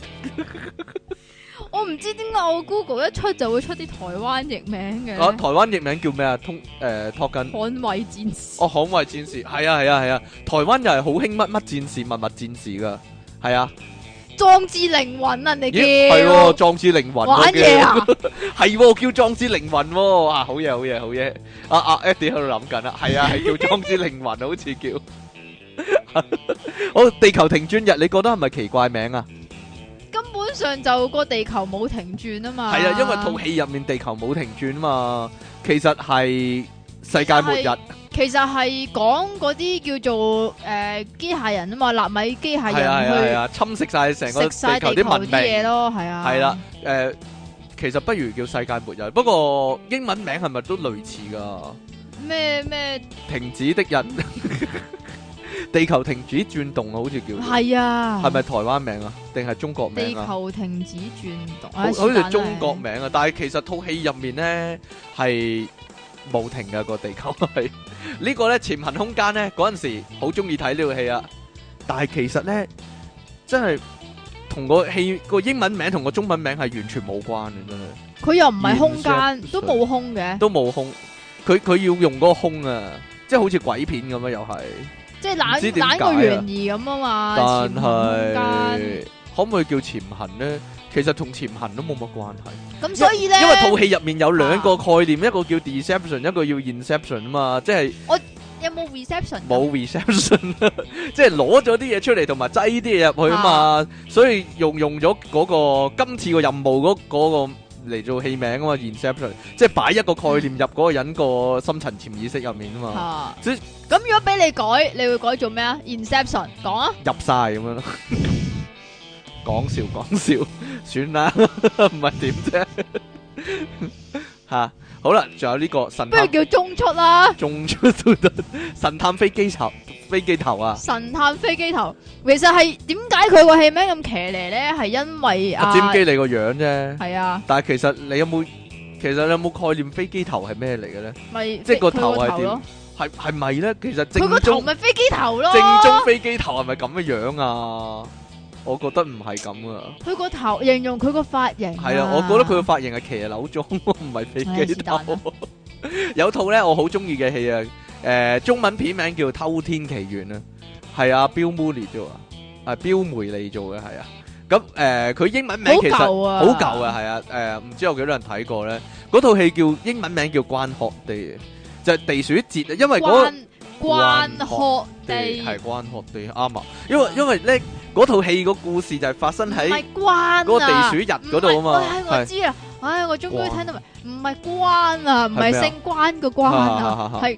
我唔知點解我 Google 一出就會出啲台灣譯名嘅。 台灣譯名叫咩啊？Top Gun 捍衛戰士。 哦，捍衛戰士，係啊！台灣又係好興乜戰士、乜戰士噶，係啊。 壯志凌雲啊，你叫？ 係喎，壯志凌雲。 玩嘢啊？係喎，叫壯志凌雲喎。啊，好嘢。Eddie 喺度諗緊啦，係啊，係叫壯志凌雲，好似叫。好，地球停轉日，你覺得係咪奇怪名啊？ 根本上就個地球冇停轉啊嘛。 係啊，因為套戲入面地球冇停轉啊嘛，其實係世界末日。 其實係講嗰啲叫做機械人啊嘛，納米機械人去侵蝕晒成個地球啲文明嘢咯，係啊。 係啦，其實不如叫世界末日，不過英文名係咪都類似噶？ 咩停止的日，地球停止轉動啊，好似叫。係啊。係咪台灣名啊？定係中國名啊？ 地球停止轉動， 好似中國名啊，但係其實套戲入面咧係冇停嘅，個地球係。呢個咧潛行空間咧嗰陣時好中意睇呢套戲啊，但係其實咧真係同個戲個英文名同個中文名係完全冇關嘅，真係。佢又唔係空間，都冇空嘅， 都冇空。佢要用嗰個空啊， 即係好似鬼片咁啊，又係。 即係唔知點解啊懶個懸疑咁啊嘛， 但潛行空係可唔可以叫潛行咧？其實同潛行都冇乜關係。 間。咁所以咧， 因為套戲入面有兩個概念，一個叫 deception， 一個叫 inception 啊嘛，即係有冇 reception？ 冇 reception， 即係攞咗啲嘢出嚟，同埋擠啲嘢入去啊嘛，所以用咗嗰個今次個任務嗰個嚟做戲名啊嘛 ，inception， 即係擺一個概念入嗰個人個深層潛意識入面啊嘛。即係咁如果俾你改，你會改做咩啊 ？Inception， 講啊， 入晒咁樣咯。講笑，算啦，唔係點啫吓。好啦，仲有呢個神探， 不如叫中出啦。 中出都得。神探飛機頭啊！ 神探飛機頭，其實係點解佢個戲名咁騎呢咧？係因為尖機你個樣啫。 係啊。 但係其實你有冇概念飛機頭係咩嚟嘅咧？ 咪即係個頭係點？係咪咧？其實佢個頭咪飛機頭咯。 正宗飛機頭係咪咁嘅樣啊？我覺得唔係咁啊！ 佢個頭形容佢個髮型係啊，我覺得佢個髮型係騎樓裝，唔係飛機頭。有套咧我好中意嘅戲啊，中文片名叫《偷天奇緣》啊，係啊，Bill Murray做啊，係標梅利做嘅，係啊。咁佢英文名其實好舊啊，係啊，唔知有幾多人睇過咧？嗰套戲叫英文名叫《Groundhog Day》，就係地鼠節啊，因為Groundhog Day 係Groundhog Day啱啊，因為咧。嗰套戲個故事就係發生喺嗰個地鼠日嗰度啊嘛， 我知啊，唉，我終於聽到明，唔係關啊，唔係姓關個關啊，係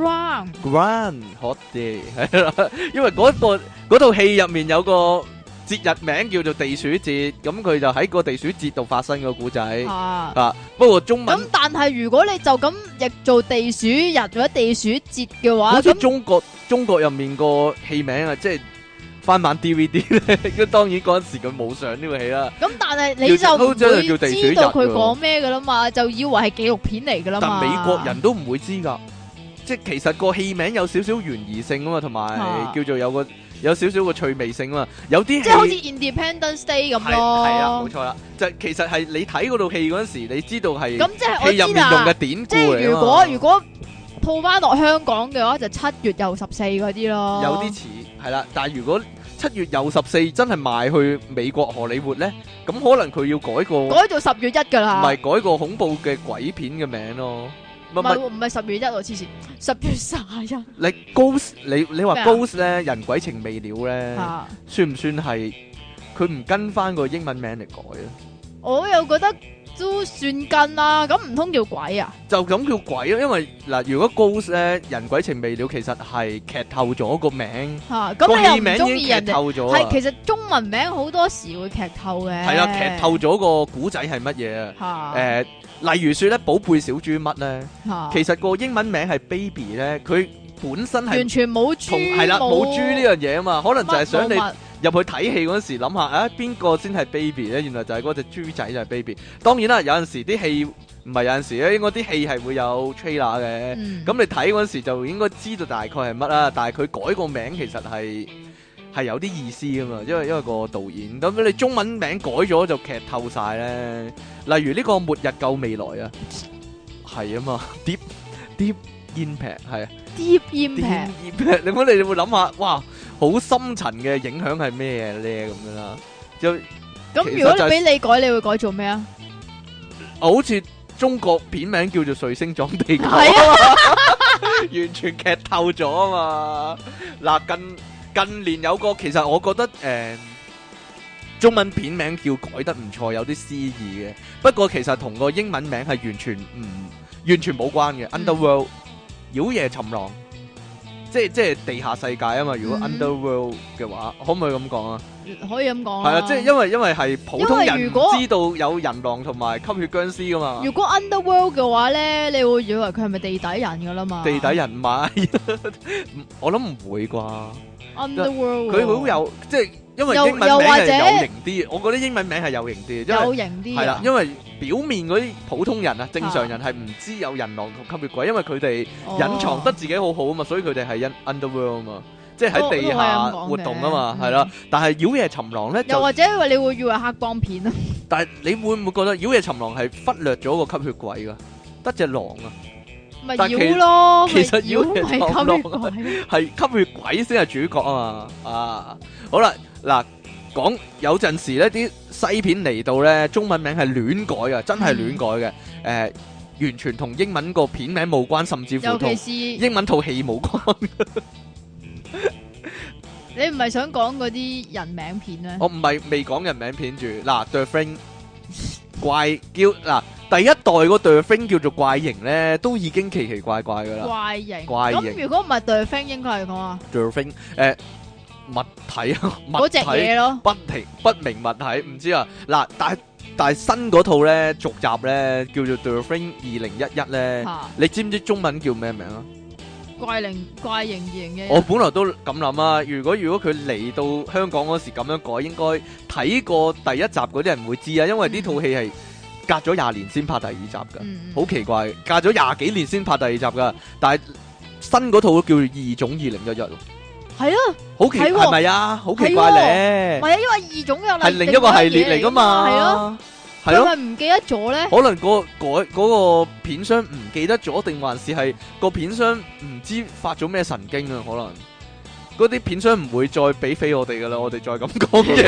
Groundhog Day 係啦，因為嗰套戲入面有個節日名叫做地鼠節，咁佢就喺個地鼠節度發生個故仔啊。不過中文咁，但係如果你就咁譯做地鼠日或者地鼠節嘅話， 好似中國入面個戲名啊，即係。翻版 DVD 咧，咁當然嗰陣時佢冇上呢個戲啦。咁但係你就唔會知道佢講咩噶啦嘛，就以為係紀錄片嚟噶啦嘛。 但美國人都唔會知噶，即係其實個戲名有少少懸疑性啊嘛，同埋叫做有少少個趣味性啊嘛。有啲即係好似 Independence Day 咁咯。 係啊，冇錯啦。就其實係你睇嗰套戲嗰陣時，你知道係咁即係我知啦。 戲入面用嘅典故嚟啊嘛。 即係如果套翻落香港嘅話，就7月又14嗰啲咯。 有啲似係啦，但係如果7月又14真係賣去美國荷里活咧，咁可能佢要改做 10月1噶啦， 唔係改個恐怖嘅鬼片嘅名咯， 唔係10月1喎，黐線，10月31。 你 Ghost 你話 Ghost 咧，人鬼情未了咧，算唔算係佢唔跟翻個英文名嚟改啊？我又覺得都算跟啦，咁唔通叫鬼啊？ 就咁叫鬼咯，因為嗱，如果 Ghost 咧，人鬼情未了，其實係劇透咗個名， 咁你又唔中意人哋？ 係其實中文名好多時會劇透嘅。 係啊，劇透咗個古仔係乜嘢啊？例如說咧，寶貝小豬乜咧，其實個英文名係 Baby 咧，佢本身係完全冇豬， 係啦，冇豬呢樣嘢啊嘛，可能就係想你入去睇戲嗰時諗下，啊邊個先係 baby 咧？原來就係嗰隻豬仔就係 baby。當然啦，有陣時啲戲唔係有陣時咧，應該啲戲係會有 trailer 嘅。咁你睇嗰時就應該知道大概係乜啦。但係佢改個名其實係有啲意思噶嘛，因為個導演咁你中文名改咗就劇透晒咧。例如呢個末日救未來啊，係啊嘛 ，Deep Impact 係啊 ，Deep Impact。 你會諗下，哇！好深層嘅影響係咩咧？咁樣啦， 咁如果你俾你改，你會改做咩啊？ 好似中國片名叫做《彗星撞地球》，完全劇透咗啊嘛！嗱，近年有個，其實我覺得中文片名叫改得唔錯，有啲詩意嘅。不過其實同個英文名係完全冇關嘅。Underworld 妖夜尋狼。即係地下世界啊嘛！如果 Underworld 嘅話，可唔可以咁講啊？ 可以咁講。 係啊，即係因為係普通人唔知道有人狼同埋吸血僵屍噶嘛。 如果 Underworld 嘅話咧，你會以為佢係咪地底人噶啦嘛？ 地底人唔係，我諗唔會啩。 Underworld 佢好有即係，因為英文名係有型啲，我覺得英文名係有型啲， 有型啲係啦，因為表面嗰啲普通人啊，正常人係唔知有人狼同吸血鬼，因為佢哋隱藏得自己好好啊嘛，所以佢哋係Underworld 啊嘛，即係喺地下活動啊嘛，係啦。但係妖夜尋狼咧， 又或者你會以為黑幫片啊？ 但係你會唔會覺得妖夜尋狼係忽略咗個吸血鬼噶？得隻狼啊！ 咪妖咯， 其實妖咪吸血鬼， 係吸血鬼先係主角啊嘛。啊，好啦，嗱，講有陣時呢啲西片嚟到咧，中文名係亂改嘅，真係亂改嘅。完全同英文個片名冇關，甚至乎同英文套戲冇關。 你唔係想講嗰啲人名片咩？ 我唔係未講人名片住。嗱，The Thing 怪叫嗱，第一代個 The Thing 叫做怪形咧，都已經奇奇怪怪噶啦。 怪形。 怪形。 咁如果唔係 The Thing，應該係講啊 The Thing 物體啊， 嗰隻嘢咯， 不明物體，唔知啊。嗱，但係新嗰套咧續集咧叫做 The Thing 2011咧，你知唔知中文叫咩名啊？怪形2011。我本來都咁諗啊，如果佢嚟到香港嗰時咁樣改，應該睇過第一集嗰啲人會知啊，因為呢套戲係隔咗20年先拍第二集噶，好奇怪，隔咗20幾年先拍第二集噶，但係新嗰套都叫做異種2011咯。係啊，好奇係咪啊？好奇怪咧！唔係啊，因為異種又係另一個系列嚟噶嘛。係咯，係咯。係咪唔記得咗咧？可能嗰個片商唔記得咗，定還是係個片商唔知發咗咩神經啊？可能嗰啲片商唔會再俾飛我哋噶啦，我哋再咁講嘢。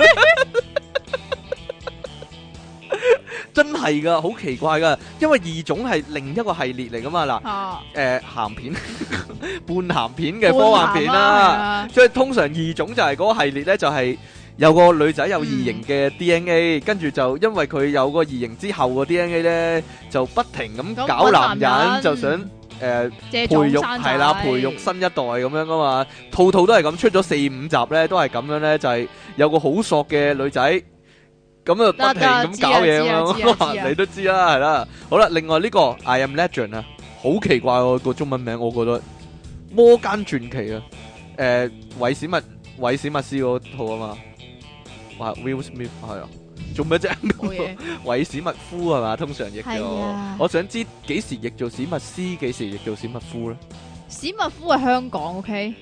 真係噶，好奇怪噶，因為異種係另一個系列嚟噶嘛。嗱，鹹片、半鹹片嘅科幻片啦，所以通常異種就係嗰個系列咧，就係有個女仔有異形嘅 DNA，跟住就因為佢有個異形之後個 DNA 咧，就不停咁搞男人，就想培育係啦，培育新一代咁樣噶嘛，套套都係咁，出咗4、5集咧，都係咁樣咧，就係有個好索嘅女仔。咁啊，不停咁搞嘢嘛，你都知啦，係啦。好啦，另外呢個 I Am Legend 啊，好奇怪喎個中文名，我覺得魔間傳奇啊，韋史密斯嗰套啊嘛，話 Will Smith 係啊，做咩啫？韋史密夫係嘛，通常譯咗。我想知幾時譯做史密斯，幾時譯做史密夫咧？史密夫係香港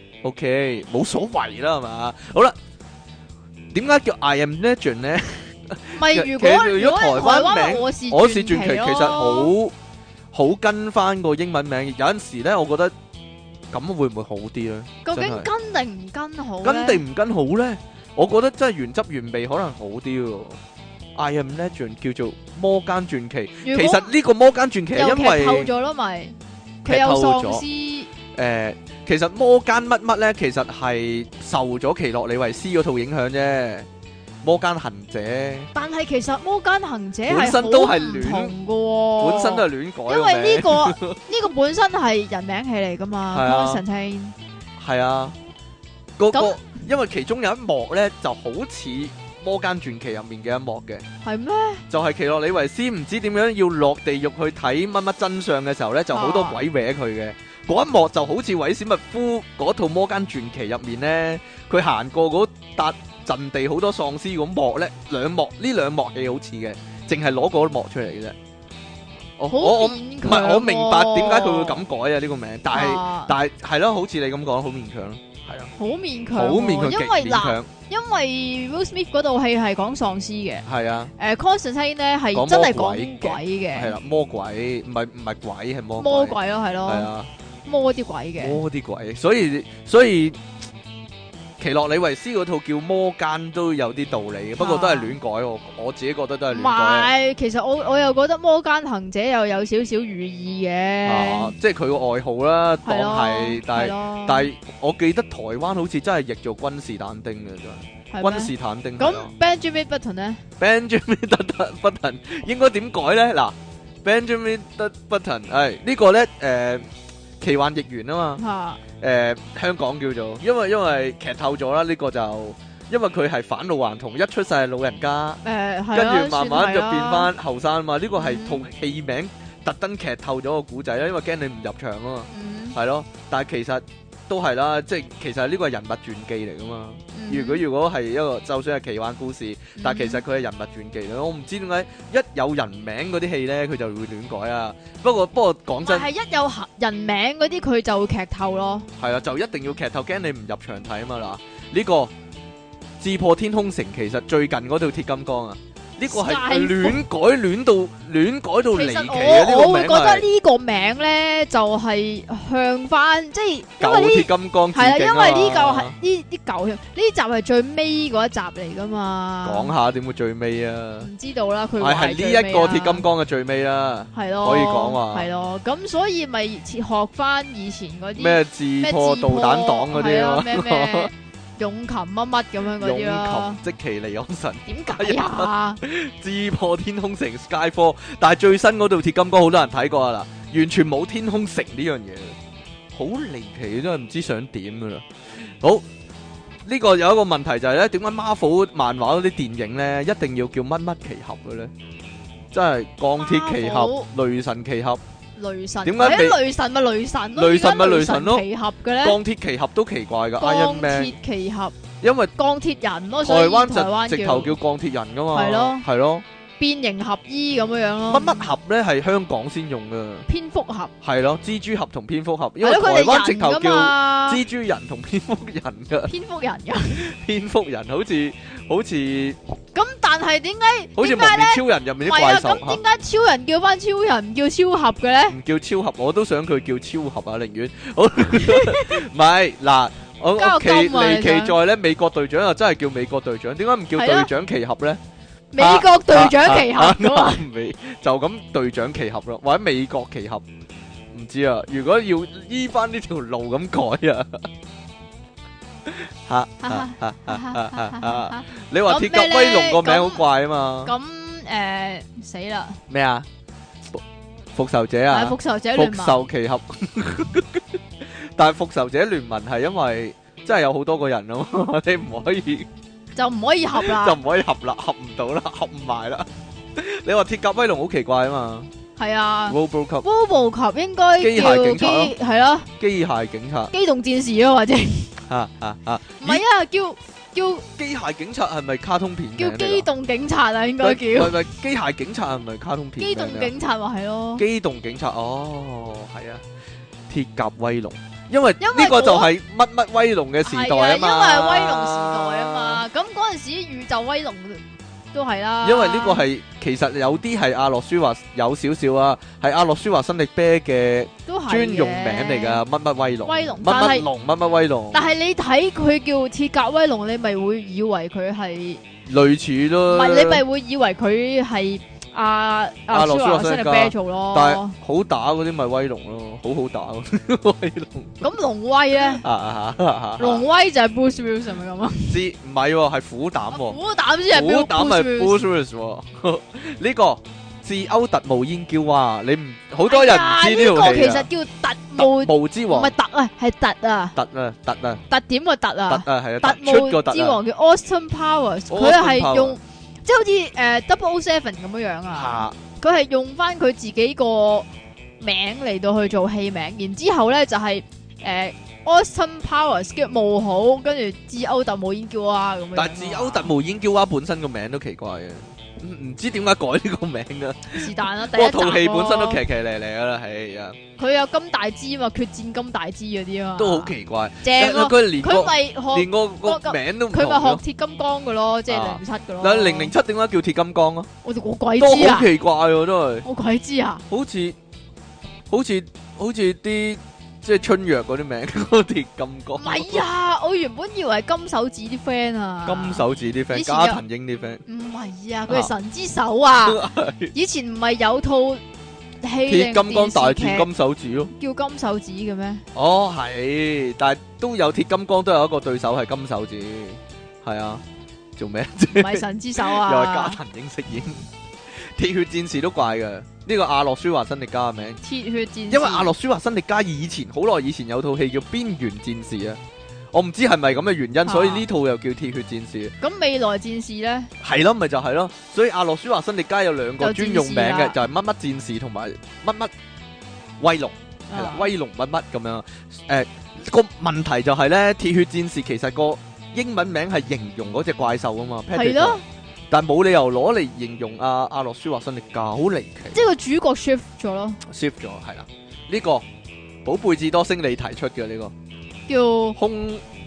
，OK，冇所謂啦，係嘛？好啦，點解叫 I Am Legend 咧？唔係，如果台灣名我是傳奇，其實好跟翻個英文名。有陣時咧，我覺得咁會唔會好啲咧？究竟跟定唔跟好？跟定唔跟好咧？我覺得真係原汁原味可能好啲喎。I Am Legend 叫做魔間傳奇，其實呢個魔間傳奇係因為劇透咗咯，咪佢有喪屍。其實魔間乜乜咧，其實係受咗奇洛李維斯嗰套影響啫。魔間行者，但係其實魔間行者本身都係唔同嘅，本身都係亂改。因為呢個本身係人名戲嚟噶嘛 Constantine 係啊，個因為其中有一幕咧，就好似魔間傳奇入面嘅一幕嘅，係咩？就係奇洛李維斯唔知點樣要落地獄去睇乜乜真相嘅時候咧，就好多鬼搲佢嘅。嗰一幕就好似韋史密夫嗰套魔間傳奇入面咧，佢行過嗰笪陣地好多喪屍咁幕咧，兩幕戲好似嘅，淨係攞嗰幕出嚟嘅啫。我唔係我明白點解佢會咁改啊呢個名，但係係咯，好似你咁講，好勉強咯，係啊，好勉強，因為嗱，因為 Will Smith 嗰套戲係講喪屍嘅，係啊，Constantine 咧係真係講鬼嘅，係啦，魔鬼唔係鬼係魔鬼咯，係咯，係啊，魔啲鬼嘅，所以。奇洛李維斯嗰套叫魔間都有啲道理嘅，不過都係亂改，我自己覺得都係亂改。唔係，其實我又覺得魔間行者又有少少寓意嘅，即係佢個外號啦，當係，但係我記得台灣好似真係譯做君士坦丁嘅真係，君士坦丁。咁 Benjamin Button 咧 ？Benjamin Button 應該點改咧？嗱 ，Benjamin Button 係呢個咧奇幻逆緣啊嘛。香港叫做，因為劇透咗啦，呢個就因為佢係返老還童，一出世係老人家，跟住慢慢就變翻後生啊嘛。呢個係套戲名特登劇透咗個古仔啦，因為驚你唔入場啊嘛，係咯。但係其實都係啦，即係其實呢個係人物傳記嚟噶嘛。如果係一個就算係奇幻故事，但係其實佢係人物傳記嚟。我唔知點解一有人名嗰啲戲咧，佢就會亂改啊。不過講真，係一有人名嗰啲佢就會劇透咯。係啊，就一定要劇透，驚你唔入場睇啊嘛。嗱，呢個《智破天空城》其實最近嗰套鐵金剛啊， 呢個係 Skyfall 亂改到離奇其嘅呢個名實我會覺得係。 呢個名咧就係向翻，即係因舊為呢鐵金剛致係啦， 敬因為呢啊嚿係呢啲舊呢集係最尾嗰一集嚟噶嘛。 講下點會最尾啊？ 唔知道啦，佢係話呢一個鐵金剛嘅最尾啦， 係咯， 可以講話係咯，咁所以咪學翻以前嗰啲咩自破導彈黨嗰啲係啊咯， 咩勇禽乜乜咁樣嗰勇啲咯。 禽即其離岸神。 點解啊？ 自破天空城 Skyfall，但係最新嗰套鐵金剛好多人睇過啦，完全冇天空城呢樣嘢，好離奇，真係唔知想點噶啦。好，呢個有一個問題就係咧，點解 Marvel 漫畫嗰啲電影咧一定要叫乜乜奇俠嘅咧？真係鋼鐵奇俠、雷神奇俠、 雷神點解未雷神咪雷神咯？ 雷神咪點解雷神咯奇俠嘅咧？ 鋼鐵奇俠都奇怪噶，Iron 鋼 Man， 鐵奇俠， 因為鋼鐵人咯， 台所以灣台灣直頭叫鋼鐵人噶嘛， 係咯係咯， 變形俠醫咁樣樣咯。 乜乜俠咧係香港先用噶， 蝙蝠俠係咯，蜘蛛俠同蝙蝠俠，因為係咯， 台灣佢哋人噶直頭叫嘛。 蜘蛛人同蝙蝠人噶， 蝙蝠人噶。 蝙蝠人好似咁但係點解好似點解咧？ 蒙面超人入面啲唔係啊， 怪獸咁點解超人叫翻超人唔叫超俠嘅咧？ 唔叫超俠，我都想佢叫超俠啊，寧願好唔係嗱，我奇交金啊離你想奇在咧，美國隊長又真係叫美國隊長，點解唔叫係咯隊長奇俠咧？ 美國隊長奇俠噶嘛？ 未就咁隊長奇俠咯，或者美國奇俠，唔知啊。如果要依翻呢條路咁改啊，你話鐵甲威龍個名好怪啊嘛？ 咁死啦！ 咩啊？復仇者啊？ 係復仇者聯復盟。 仇奇俠，但係復仇者聯盟係因為真係有好多個人啊嘛，你唔可以。 就唔可以合啦， 就唔可以合啦，合唔到啦，合唔埋啦。你話鐵甲威龍好奇怪啊嘛係啊。 ，RoboCop RoboCop 應該機叫械警察咯係咯， 機械警察， 機動戰士咯，或者唔係啊，叫機械警察係咪卡通片名嚟㗎？ 叫機動警察啊，應該叫喂，機械警察係咪卡通片機名嚟㗎？ 動警察話係咯。 機動警察哦，係啊，鐵甲威龍，因為因為呢個就係乜乜威龍嘅時代啊嘛， 係啊，因為威龍時代啊嘛，咁嗰陣時宇宙威龍都係啦。 因為呢個係其實有啲係阿諾舒華有少少啊，係阿諾舒華辛力啤嘅都係專用名嚟㗎，乜乜威龍， 威龍乜但係乜龍，乜乜威龍， 但係你睇佢叫鐵甲威龍，你咪會以為佢係類似咯， 唔係？你咪會以為佢係阿阿諾舒華辛力加辛力啤做咯。 但係好打嗰啲咪威龍咯，好好打嗰啲威龍。 咁龍威咧，龍威就係 Bruce Willis 係咪咁啊？ 知唔係喎，係虎膽喎， 虎膽先係虎膽係 Bruce Bruce Willis 喎。呢個自歐特無煙嬌啊，你唔好多人唔知呢呢個套戲啊。 其實叫特務， 特務之王， 唔係特啊，係特啊，特點個特特啊， 係啊， 特突出個突啊。 務之王叫 Austin Powers，佢 Austin 係 Powers 用即係好似007咁樣樣啊。 嚇佢係用翻佢自己個名嚟到去做戲名，然之後咧就係Austin Powers 嘅冒號，跟住自歐特無煙叫啊咁樣。 但係自歐特無煙嬌娃本身個名都奇怪嘅，唔知點解改呢個名㗎。 是但啦，第不過一集套戲本身都咯騎騎咧咧㗎啦，係啊， 佢有金大支嘛，決戰金大支嗰啲啊嘛， 都好奇怪。 正咯。 佢連個佢咪學連個名都唔同佢咪學咯。 鐵金剛嘅咯，即係007嘅咯。 嗱，007點解叫鐵金剛啊？ 我鬼都知啊好！奇怪喎，真係。 我鬼知啊！ 好似啲即係春藥嗰啲名，嗰鐵金剛。 唔係啊，我原本以為係金手指啲 friend 啊， 金手指啲 friend， 以前有加藤英啲 friend。 唔係啊，佢係神之手啊！以前唔係有套戲鐵金剛大戰金金手指咯。 叫金手指嘅咩？ 哦，係，但係都有鐵金剛都有一個對手係金手指，係啊，做咩啫？ 唔係神之手啊！ 又係加藤英飾演。鐵血戰士都怪嘅，呢個阿諾舒華辛力加嘅名。 鐵血戰士， 因為阿諾舒華辛力加以前好耐以前有套戲叫《邊緣戰士》啊，我唔知係咪咁嘅原因，所以呢套又叫鐵血戰士。 咁未來戰士咧， 係咯，咪就係咯，所以阿諾舒華辛力加有兩個專用名嘅， 有戰士啦就係乜乜戰士同埋乜乜威龍，係啦，威龍乜乜咁樣。個問題就係咧，鐵血戰士其實個英文名係形容嗰隻怪獸啊嘛， 係咯， 但冇理由攞嚟形容阿諾舒華辛力加，好離奇。 即係個主角 shift 咗咯， shift 咗係啦，呢個寶貝智多星你提出嘅呢個叫空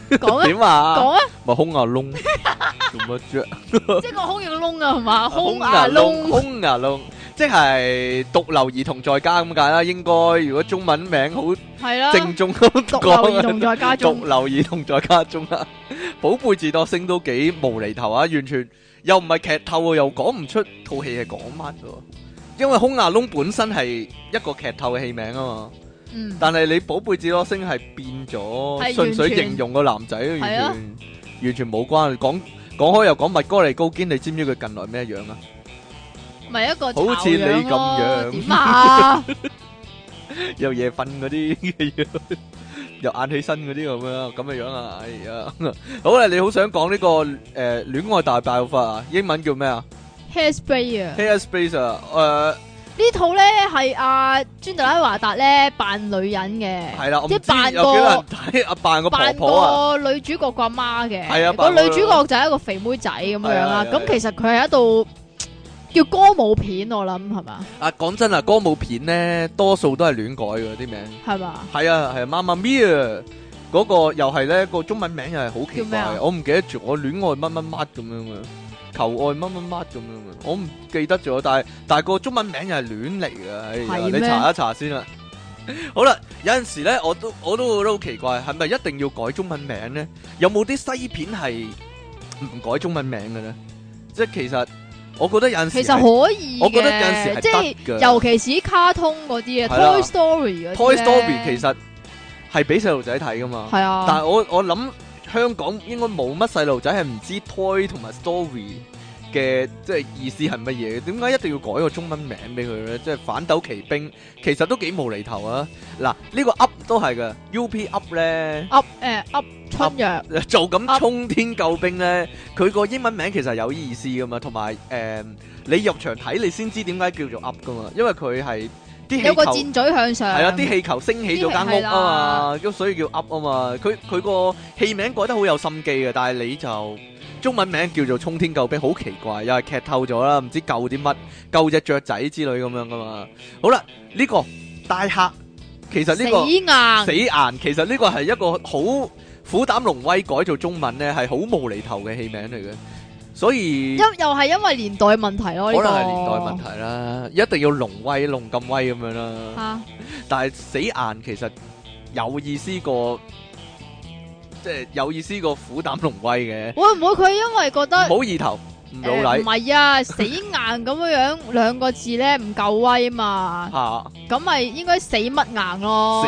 講啊， 點啊？ 講啊， 咪空牙窿做乜啫？ 即係個空有個窿啊，係嘛？空牙牙窿， 空牙窿，即係獨留兒童在家咁解啦。應該如果中文名好係啦， 正宗咁獨留兒童在家中， 獨留兒童在家中啊！寶貝智多星都幾無厘頭啊，完全又唔係劇透，又講唔出套戲係講乜嘅。因為空牙窿本身係一個劇透嘅戲名啊嘛。但係你寶貝智多星係變咗，純粹形容個男仔，完全冇關。講開又講麥哥尼高堅，你知唔知佢近來咩樣啊？ 咪一個好似你咁樣， 點啊？ 又夜瞓嗰啲，又晏起身嗰啲咁嘅樣啊！哎呀，好啦，你好想講呢個戀愛大爆發啊？英文叫咩啊 ？Hairspray 啊 ，Hairspray 啊， 呢套咧係阿尊特拉華達咧扮女人嘅， 係啦， 即係扮有幾多人睇啊？扮個婆婆啊， 扮個女主角個阿媽嘅， 係啊， 個女主角就係一個肥妹仔咁樣啦。咁其實佢係一套叫歌舞片，我諗係嘛？ 啊，講真啊，歌舞片咧多數都係亂改嘅啲名， 係嘛？ 係啊，係Mamma Mia嗰個又係咧個中文名又係好奇怪，我唔記得咗，我戀愛乜乜乜咁樣嘅。求愛乜乜乜咁樣嘅，我唔記得咗，但係個中文名又係亂嚟嘅，你查一查先啦。好啦，有陣時咧，我都覺得好奇怪，係咪一定要改中文名咧？有冇啲西片係唔改中文名嘅咧？即係其實我覺得有陣時其實可以，我覺得有陣時係即係尤其是卡通嗰啲啊 ，Toy Story 嗰啲 Toy Story 其實係俾細路仔睇噶嘛。係啊，但係我諗。香港應該冇乜細路仔係唔知 toy 同埋 story 嘅即係意思係乜嘢嘅？點解一定要改個中文名俾佢咧？即係反斗奇兵，其實都幾無厘頭啊！嗱，呢個 up 都係嘅 ，UP up 咧 up 春藥做咁衝天救兵咧，佢個英文名其實有意思噶嘛，同埋你入場睇你先知點解叫做 up 噶嘛，因為佢係。 有個箭嘴向上， 係啊！啲氣球升起咗間屋啊嘛，咁所以叫 up 啊嘛。佢個戲名改得好有心機嘅，但係你就中文名叫做衝天救兵，好奇怪，又係劇透咗啦，唔知救啲乜，救隻雀仔之類咁樣噶嘛。好啦，呢個大客其實呢個死硬，其實呢個係一個好虎膽龍威改做中文咧，係好無厘頭嘅戲名嚟嘅。所以又係因為年代問題咯， 可能係年代問題啦，一定要龍威龍咁威咁樣啦。但係死硬其實有意思過，即係有意思過虎膽龍威嘅。會唔會佢因為覺得唔好意頭唔老禮？ 唔係啊，死硬咁樣兩個字咧唔夠威嘛。咁咪應該死乜硬咯？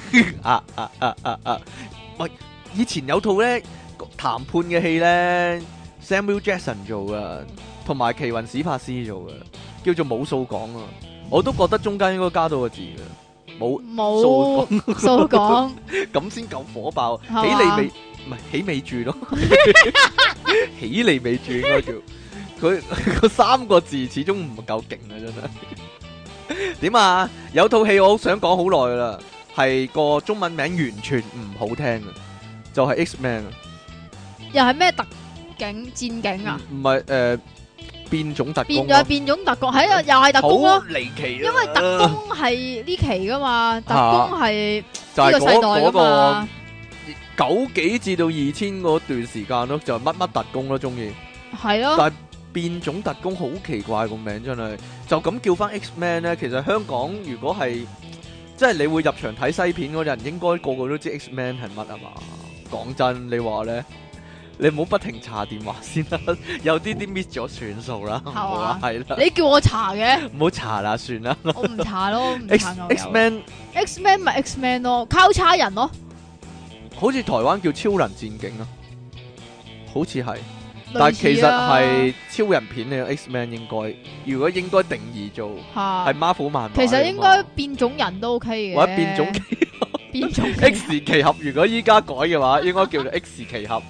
死喂，以前有套咧談判嘅戲咧。Samuel Jackson 做噶，同埋奇雲史柏斯做嘅，叫做冇數講啊！我都覺得中間應該加多個字嘅，冇數講， 咁先夠火爆。起你未唔係起未住咯，起你未住應該叫佢個三個字始終唔夠勁啊！真係點啊？有套戲我好想講好耐啦，係個中文名完全唔好聽嘅，就係 X-Men 啊！ 又係咩特警戰警啊？唔係變種特工， 變種特工，係啊，又係特工咯， 好離奇。 因為特工係呢期噶嘛，特工係呢個世代噶嘛。 90幾至到2000嗰段時間咯，就乜乜特工咯，中意係咯。 但係變種特工好奇怪個名，真係就咁叫翻 X-Men 咧。其實香港如果係即係你會入場睇西片嗰人，應該個個都知 X-Men 係乜啊嘛。講真，你話咧？你唔好不停查電話先啦，有啲 miss 咗算數啦，係啦。 你叫我查嘅， 唔好查啦，算啦。 我唔查咯。 X-Men 咪 X-Men 咯，交叉人咯。 好似台灣叫超人戰警啊，好似係，但係其實係超人片嚟。X-Men 應該，如果應該定義做係 Marvel 漫畫， 其實應該變種人都 OK 嘅。 或者變種變種 X 奇俠，如果依家改嘅話，應該叫做 X 奇俠。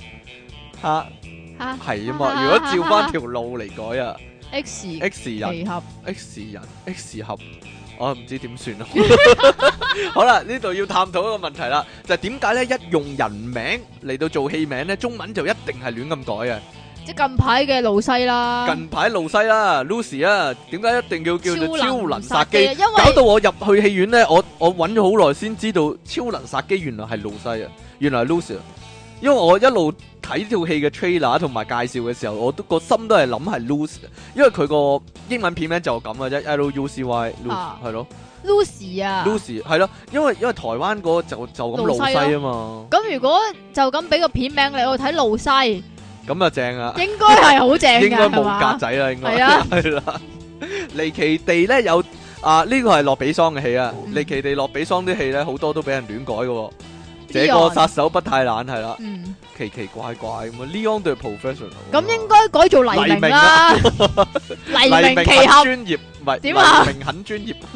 係啊嘛，如果照翻條路嚟改啊 ，X 人、X 俠，我唔知點算咯。好啦，呢度要探討一個問題啦，就係點解咧一用人名嚟到做戲名咧，中文就一定係亂咁改啊？ 即係近排嘅露西啦， 近排露西啦 ，Lucy 啊，點解一定要叫做超能殺機？ 因為搞到我入去戲院咧，我揾咗好耐先知道超能殺機原來係露西啊，原來係 Lucy 啊。 因為我一路睇套戲嘅 trailer 同埋介紹嘅時候，我都個心都係諗係 Lucy， 因為佢個英文片名就咁嘅啫 ，Lucy 係咯 Lucy 啊 ，Lucy 係咯，因為台灣嗰個就咁露西啊嘛。 咁如果就咁俾個片名你，我睇露西， 咁啊正啊， 應該係好正嘅， 應該冇格仔啦，應該係啦。離奇地咧有呢個係洛比桑嘅戲啊，離奇地洛比桑啲戲咧好多都俾人亂改嘅。這個殺手不太冷係啦，奇奇怪怪咁啊 Leon the Professional 咁應該改做黎明啦，黎明奇俠專業唔係點啊？ 黎明很專業，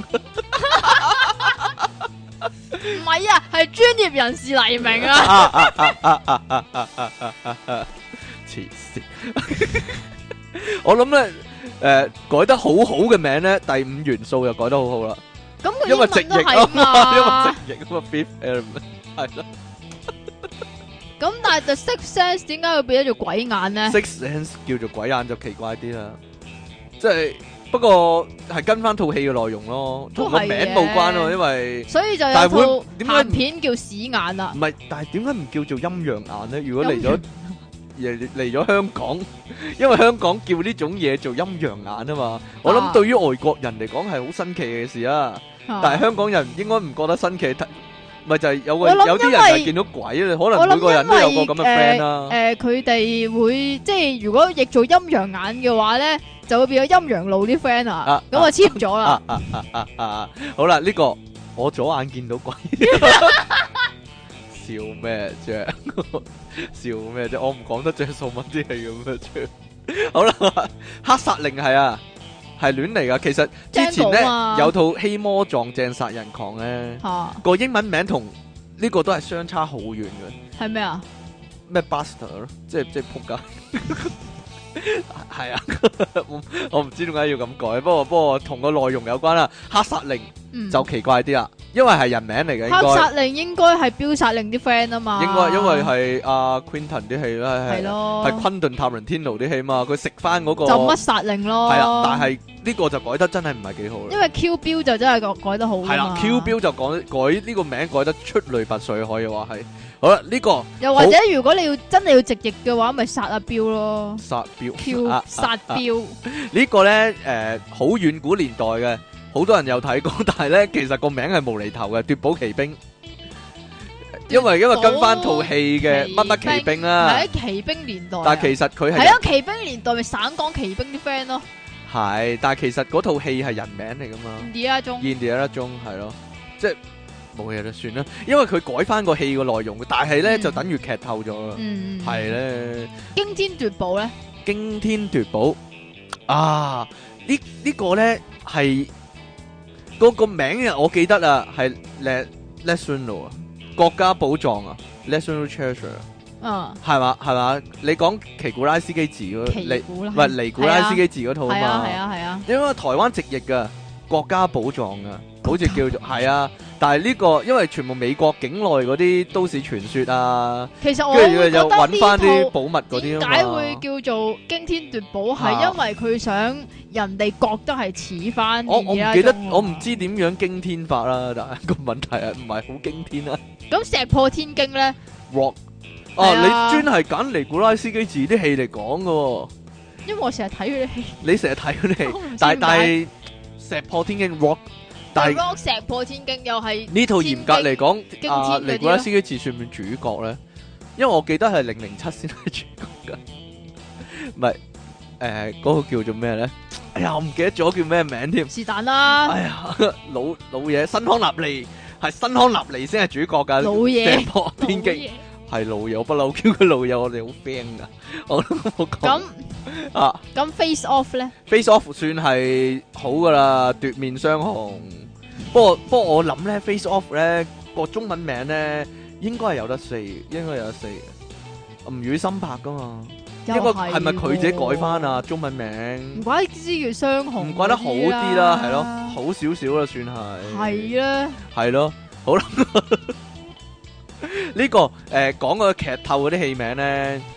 唔係啊，係專業人士黎明啊！ 黐線，我諗咧改得好好嘅名咧，第五元素又改得好好啦。 咁佢因為直譯啊嘛，因為直譯啊嘛 ，Fifth Element 係咯。 咁但係 The Sixth Sense 點解會變咗做鬼眼咧 ？Sixth Sense 叫做鬼眼就奇怪啲啦，即係不過係跟翻套戲嘅內容咯，同個名冇關咯，因為所以就有套鹹片叫屎眼啊。 唔係，但係點解唔叫做陰陽眼咧？如果嚟咗香港，因為香港叫呢種嘢做陰陽眼啊嘛，我諗對於外國人嚟講係好新奇嘅事啊，但係香港人應該唔覺得新奇。咪就係有啲人係見到鬼咧，可能每個人都有個咁嘅 friend 啦。 佢哋會即係如果譯做陰陽眼嘅話咧，就會變咗陰陽路啲 friend 啊，咁啊簽咗啦。 好啦，呢個我左眼見到鬼，笑咩啫？笑咩啫？我唔講得鄭素文啲戲咁嘅啫。好啦，黑殺令係啊。係亂嚟噶，其實之前咧有套《希魔撞正殺人狂》咧，個英文名同呢個都係相差好遠嘅。 係咩啊？ 咩 Buster 咯，即係仆街。係啊，我唔知點解要咁改，不過同個內容有關啦。黑殺令就奇怪啲啦，因為係人名嚟嘅。 黑殺令應該係標殺令啲 friend 啊嘛。 應該因為係阿 Quentin 啲戲啦，係昆頓塔倫天奴啲戲嘛，佢食翻嗰個就乜殺令咯。 係啊，但係呢個就改得真係唔係幾好。因為 Q 標就真係改得好。係啦 ，Q 標就改呢個名改得出類拔萃，可以話係。好啦，呢個又或者如果你要真係要直譯嘅話，咪殺阿標咯。 殺標 Q 殺標呢個咧好遠古年代嘅，好多人有睇過，但係咧其實個名係無厘頭嘅，奪寶奇兵。因為跟翻套戲嘅乜乜奇兵啦， 係喺奇兵年代。 但係其實佢係啊，奇兵年代咪省港奇兵啲 friend 咯。 係，但係其實嗰套戲係人名嚟噶嘛。Indiana Jones 係咯，即係。冇嘢就算啦，因為佢改翻個戲個內容，但係咧就等於劇透咗啦。係咧， 驚天奪寶咧， 驚天奪寶啊！呢個咧係個名啊，我記得啊，係 National 啊，國家寶藏啊 ，National Treasure 啊，係嘛？你講奇古拉斯基治嗰尼古拉斯基治嗰套啊嘛， 係啊， 因為台灣直譯噶國家寶藏啊，好似叫做係啊。但係呢個因為全部美國境內嗰啲都市傳說啊， 其實我會覺得又揾翻啲寶物嗰啲啊嘛。 點解會叫做驚天奪寶？係因為佢想人哋覺得係似翻。我唔記得， 我唔知點樣驚天法啦。但係個問題係唔係好驚天啊？ 咁石破天驚咧 ？Rock 你專係揀尼古拉斯基治啲戲嚟講噶。 因為我成日睇佢啲戲。 你成日睇佢啲戲，但係石破天驚 Rock。但係石破天驚又係呢套嚴格嚟講，尼古拉斯基治算唔算主角咧？因為我記得係007先係主角噶，唔係嗰個叫做咩咧？哎呀，我唔記得咗叫咩名添。 是但啦。 哎呀，老嘢，新康納利係新康納利先係主角噶。 老嘢， 石破天驚係老嘢，我不嬲叫佢老嘢，我哋好 friend 噶。我都冇講。 咁 Face Off 咧 ？Face Off 算係好噶啦，奪面雙雄。不過我諗咧 ，Face Off 咧個中文名咧應該係有得四，應該有得四嘅。吳宇森拍噶嘛？應該係咪佢自己改翻啊？中文名唔怪之叫雙雄， 唔怪得好啲啦，係咯，好少少啦，算係。 係啦， 係咯，好啦。呢個講個劇透嗰啲戲名咧，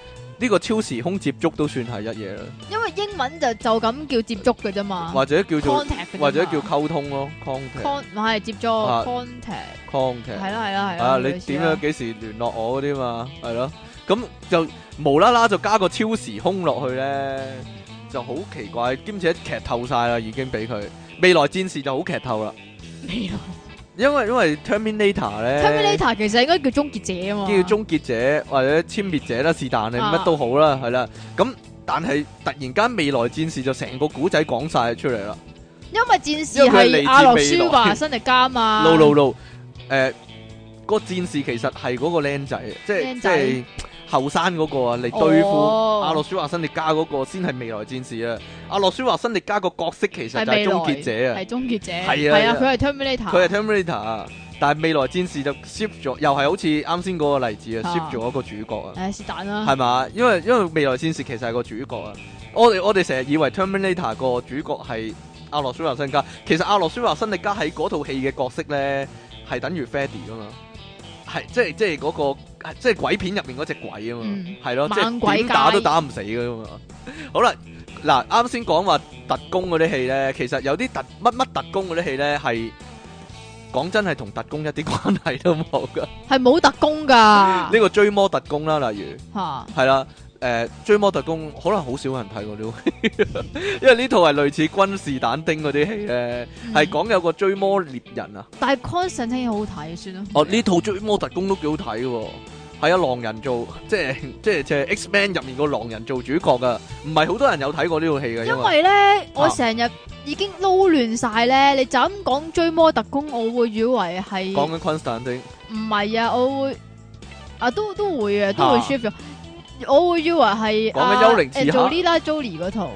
呢個超時空接觸都算係一嘢啦。 因為英文就咁叫接觸嘅啫嘛， 或者叫做 contact 或者叫溝通咯 ，contact 唔係接觸 contact 係啦啊！你點樣幾時聯絡我嗰啲嘛？係咯，咁就無啦啦就加個超時空落去咧，就好奇怪，兼且劇透晒啦，已經俾佢未來戰士就好劇透啦。因為 Terminator 咧 Terminator 其實應該叫終結者啊嘛， 叫終結者或者殲滅者啦，是但你乜都好啦，係啦。咁但係突然間未來戰士就成個古仔講晒出嚟啦。 因為戰士係阿諾舒華辛力加嘛。 no，個戰士其實係嗰個僆仔，即係後生嗰個啊，嚟對付阿諾舒華辛力加嗰個先係未來戰士啊。阿諾舒華辛力加個角色其實就係終結者啊， 係終結者， 係啊， 佢係 Terminator， 但係未來戰士就 shift 咗，又係好似啱先嗰個例子啊，shift 咗一個主角啊， 是但啦， 係嘛？因為未來戰士其實係個主角啊，我哋成日以為 Terminator 個主角係阿諾舒華辛力加，其實阿諾舒華辛力加喺嗰套戲嘅角色咧係等於 Freddy 噶嘛。係即係嗰個即係鬼片入面嗰隻鬼啊嘛，係咯，即係點打都打唔死噶嘛。好啦，嗱啱先講話特工嗰啲戲咧，其實有啲乜特工嗰啲戲咧係講真係同特工一啲關係都冇噶， 係冇特工噶。 呢個追魔特工啦，例如係啦。追魔特工可能好少人睇過呢套戲，因為呢套係類似君士坦丁嗰啲戲咧，係講有個追魔獵人啊。 但係 Constantine 好睇，算啦。 哦，呢套追魔特工都幾好睇嘅，係啊，狼人做，即係 X-Men 入面個狼人做主角噶，唔係好多人有睇過呢套戲嘅。 因為咧，我成日已經撈亂晒咧，你就咁講追魔特工，我會以為係講緊君士坦丁。唔係啊，我會都會啊，都會 shift 咗。我會以為係講緊幽靈刺客 Angelina Jolie 嗰套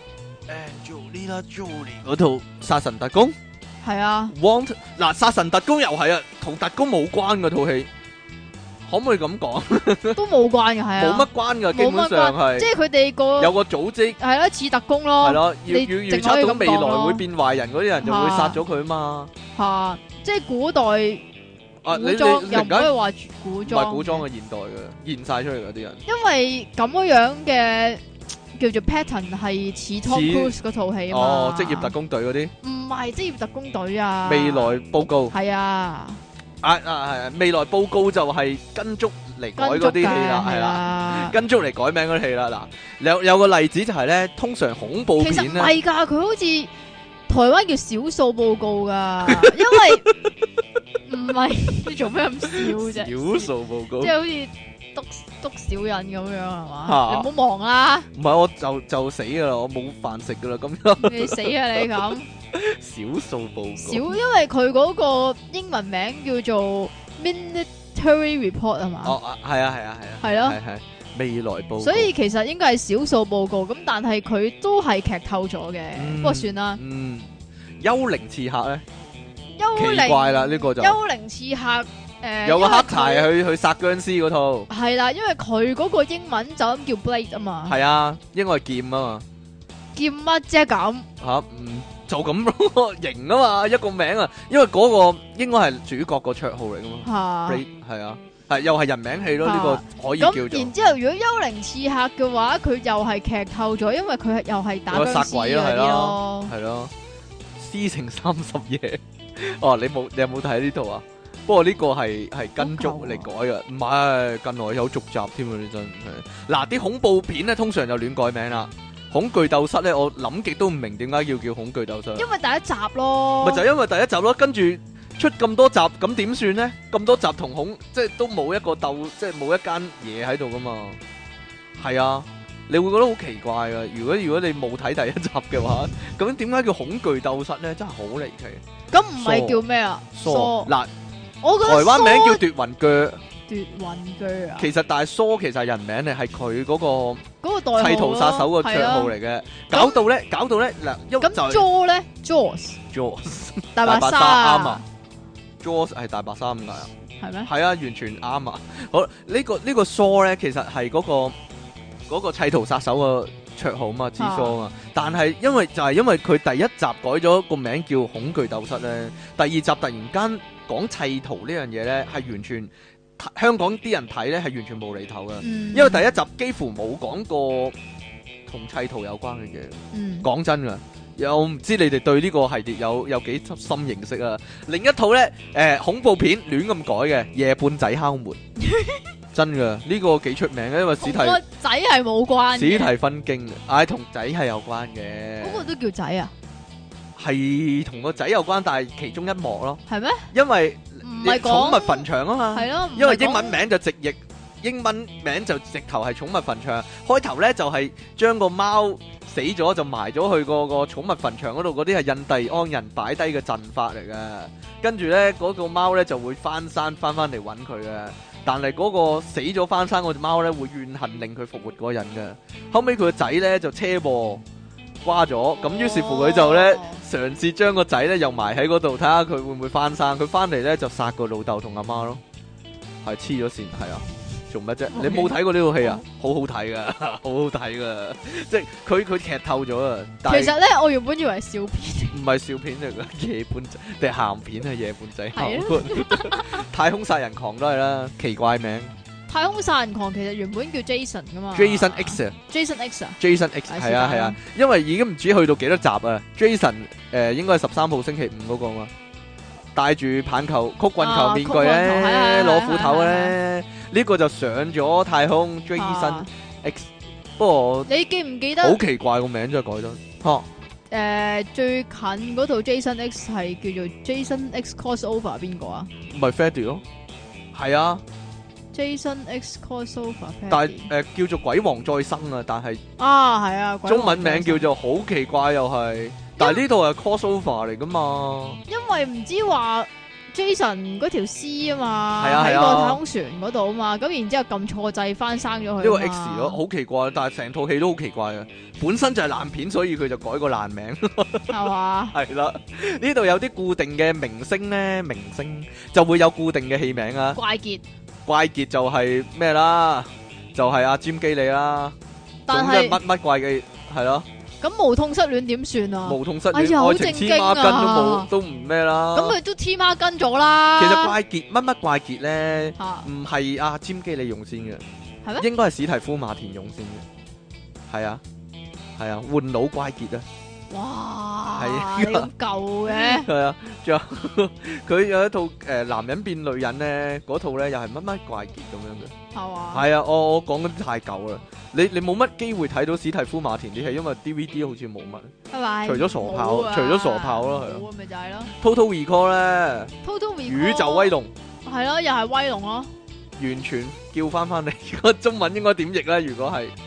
，Angelina Jolie 嗰套殺神特工係啊。 嗱，殺神特工又係啊，同特工冇關嘅套戲，可唔可以咁講？ 都冇關嘅，係啊， 冇乜關嘅，基本上係， 即係佢哋個有個組織係咯，似特工咯， 係咯，要預測到未來會變壞人嗰啲人就會殺咗佢嘛。 吓，即係古代。 你又唔可以話古裝， 唔係古裝嘅現代嘅現晒出嚟嗰啲人， 因為咁樣嘅叫做 pattern 係似 Tom Cruise 嗰套戲啊嘛。 哦，職業特工隊嗰啲， 唔係職業特工隊啊。 未來報告係啊， 係未來報告就係跟足嚟改嗰啲戲啦，係啦，跟足嚟改名嗰啲戲啦。嗱，有個例子就係咧，通常恐怖片咧，其實唔係㗎，佢好似台灣叫少數報告㗎，因為。唔係，你做咩咁笑啫？ 少數報告， 即係好似篤小人咁樣係嘛？你唔好忙啦。 唔係，我就死噶啦，我冇飯食噶啦，咁樣。 你死啊你咁！ 少數報告。少， 因為佢嗰個英文名叫做 Military Report 係嘛？ 哦，係啊。係咯。係未來報告。 所以其實應該係少數報告，咁但係佢都係劇透咗嘅。不過算啦。 幽靈刺客咧。 奇怪啦，呢個就幽靈刺客有個黑柴去殺僵屍嗰套係啦，因為佢嗰個英文就咁叫 Blade 啊嘛， 係啊，應該係劍啊嘛， 劍乜啫咁吓，就咁咯，型啊嘛，一個名啊，因為嗰個應該係主角個綽號嚟噶嘛，Blade 係啊，係又係人名戲咯，呢個可以叫做。 咁然之後，如果幽靈刺客嘅話，佢又係劇透咗，因為佢又係打僵屍嗰啲咯， 係咯，師承30夜。哦，你有冇睇呢套啊？不過呢個係跟足嚟改嘅，唔係近來有續集添啊！你真係嗱，啲恐怖片咧通常就亂改名啦。恐懼鬥室咧，我諗極都唔明點解要叫恐懼鬥室。 因為第一集咯， 咪就因為第一集咯，跟住出咁多集，咁點算咧？咁多集同即係都冇一個鬥，即係冇一間嘢喺度噶嘛？係啊。你會覺得好奇怪噶，如果你冇睇第一集嘅話，咁點解叫恐懼鬥室咧？真係好離奇。 咁唔係叫咩啊？ 疏嗱， 我覺得台灣名叫奪魂鋸。 奪魂鋸啊！ 其實但係疏其實係人名嚟，係佢嗰個代號砌圖殺手個綽號嚟嘅。搞到咧嗱， 咁 Jaws 咧 Jaws 大白鯊啱啊 Jaws 係大白鯊咁解啊？ 係咩？ 係啊，完全啱啊！好，呢個疏咧，其實係嗰個砌圖殺手個綽號嘛，之疏嘛，但係因為佢第一集改咗個名叫恐懼鬥室咧，第二集突然間講砌圖呢樣嘢咧，係完全香港啲人睇咧係完全無厘頭噶， 嗯， 因為第一集幾乎冇講過同砌圖有關嘅嘢。 嗯， 講真噶，又唔知你哋對呢個系列有幾深認識啊？另一套咧，恐怖片亂咁改嘅《夜半仔敲門》，真噶呢個幾出名嘅，因為同個仔係冇關嘅， 史提芬經嘅，同仔係有關嘅， 嗰個都叫仔啊？ 係同個仔有關，但係其中一幕咯， 係咩？ 因為唔係寵物講墳場啊嘛， 係咯， 因為英文名就直譯。英文名就直頭係寵物墳場，開頭咧就係將個貓死咗就埋咗去個寵物墳場嗰度，嗰啲係印第安人擺低嘅陣法嚟嘅。跟住咧嗰個貓咧就會翻山翻嚟揾佢嘅，但係嗰個死咗翻山嗰隻貓咧會怨恨令佢復活嗰個人嘅。後尾佢個仔咧就車禍瓜咗，咁於是乎佢就咧嘗試將個仔咧又埋喺嗰度，睇下佢會唔會翻生。佢翻嚟咧就殺個老豆同阿媽咯，係黐咗線，係啊。做乜啫？你冇睇過呢套戲啊？好好睇噶，好好睇噶，即係佢劇透咗啊！ 其實咧，我原本以為係笑片， 唔係笑片嚟噶，夜半仔定係鹹片啊？夜半仔係啊！太空殺人狂都係啦，奇怪名。 太空殺人狂其實原本叫 Jason 噶嘛 Jason X 啊 ，Jason X 啊 ，Jason X 係啊係啊，因為已經唔知去到幾多集啊。Jason 應該係13號星期五嗰個嘛，戴住棒球曲棍球面具咧，攞斧頭咧。呢個就上咗太空 Jason X，不過你記唔記得？ 好奇怪個名真係改得， 最近嗰套 Jason X 係叫做 Jason X Crossover 邊個啊？ 唔係 Freddy 咯，係啊 ，Jason X Crossover， 但係叫做鬼王再生啊，但係係啊， 中文名叫做好奇怪又係，但係呢套係 Crossover 嚟噶嘛？ 因為唔知話。Jason 嗰條絲啊嘛， 係啊喺個太空船嗰度啊嘛，咁然之後撳錯掣翻生咗佢。 呢個 X 咯，好奇怪，但係成套戲都好奇怪啊！本身就係爛片，所以佢就改個爛名， 係嘛？ 係啦，呢度有啲固定嘅明星咧，明星就會有固定嘅戲名啊。 怪傑， 怪傑就係咩啦？就係阿詹基利啦。 但係乜怪嘅係咯。 咁無痛失戀點算啊？ 無痛失戀，愛情黐孖筋都唔咩啦。 咁佢都黐孖筋咗啦。 其實怪傑乜怪傑咧，唔係阿詹基利用先嘅， 係咩？ 應該係史提夫馬田用先嘅。係啊，換腦怪傑啊！ 哇， 係你咁舊嘅。 係啊，仲有佢有一套男人變女人咧，嗰套咧又係乜怪傑咁樣嘅。 係嘛？ 係啊，我講嗰啲太舊啦。你冇乜機會睇到史蒂夫馬田啲戲，因為 DVD 好似冇乜。 係咪？ 除咗傻炮，除咗傻炮咯，係咯。 咪就係咯。 Total Recall 咧 ，Total Recall 宇宙威龍係咯，又係威龍咯。 完全叫翻嚟，個中文應該點譯咧？如果係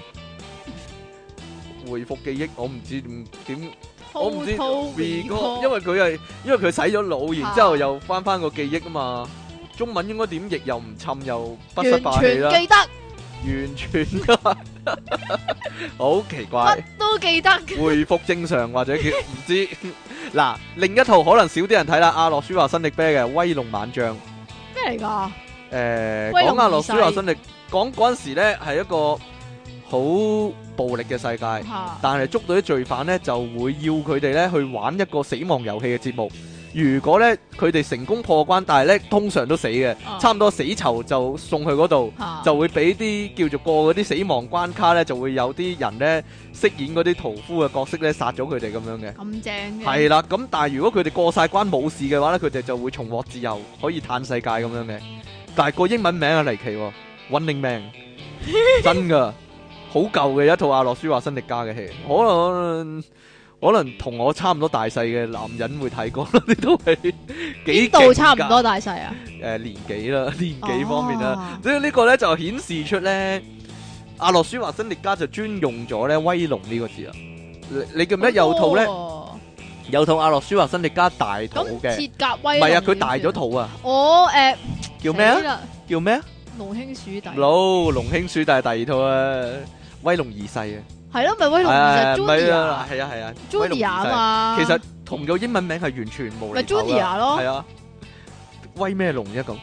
回復記憶，我唔知點，我唔知 Recall，因為佢洗咗腦，然之後又翻個記憶啊嘛。中文應該點譯又唔侵又不失霸氣啦。 完全記得。 完全好奇怪， 乜都記得。 回復正常或者叫唔知嗱，另一套可能少啲人睇啦，阿諾舒華辛力啤嘅《威龍猛將》 咩嚟噶？ 講阿諾舒華辛力，講嗰陣時咧係一個好暴力嘅世界，但係捉到啲罪犯咧就會要佢哋咧去玩一個死亡遊戲嘅節目。如果咧佢哋成功破關，但係咧通常都死嘅，差唔多死囚就送去嗰度，就會俾啲叫做過嗰啲死亡關卡咧，就會有啲人咧飾演嗰啲屠夫嘅角色咧殺咗佢哋咁樣嘅。 咁正嘅。係啦，咁但係如果佢哋過晒關冇事嘅話咧，佢哋就會重獲自由，可以嘆世界咁樣嘅。但係個英文名啊離奇喎，Running Man， 真噶，好舊嘅一套阿諾舒華辛力加嘅戲，可能同我差唔多大細嘅男人會睇過啦，呢套戲幾度差唔多大細啊？ 年紀啦，年紀方面啦，所以呢個咧就顯示出咧，阿諾舒華辛力加就專用咗咧威龍呢個字啊！你記唔記得有套咧？有套阿諾舒華辛力加大肚嘅， 鐵甲威龍， 唔係啊，佢大咗肚啊！叫咩啊？叫咩啊？ 龍兄鼠弟。 龍兄鼠弟第二套啊，威龍二世啊！ 係咯，咪威龍二世 Junior， 係啊 Junior 啊嘛， 其實同個英文名係完全冇厘頭噶， 咪 Junior 咯， 係啊，威咩龍啫咁，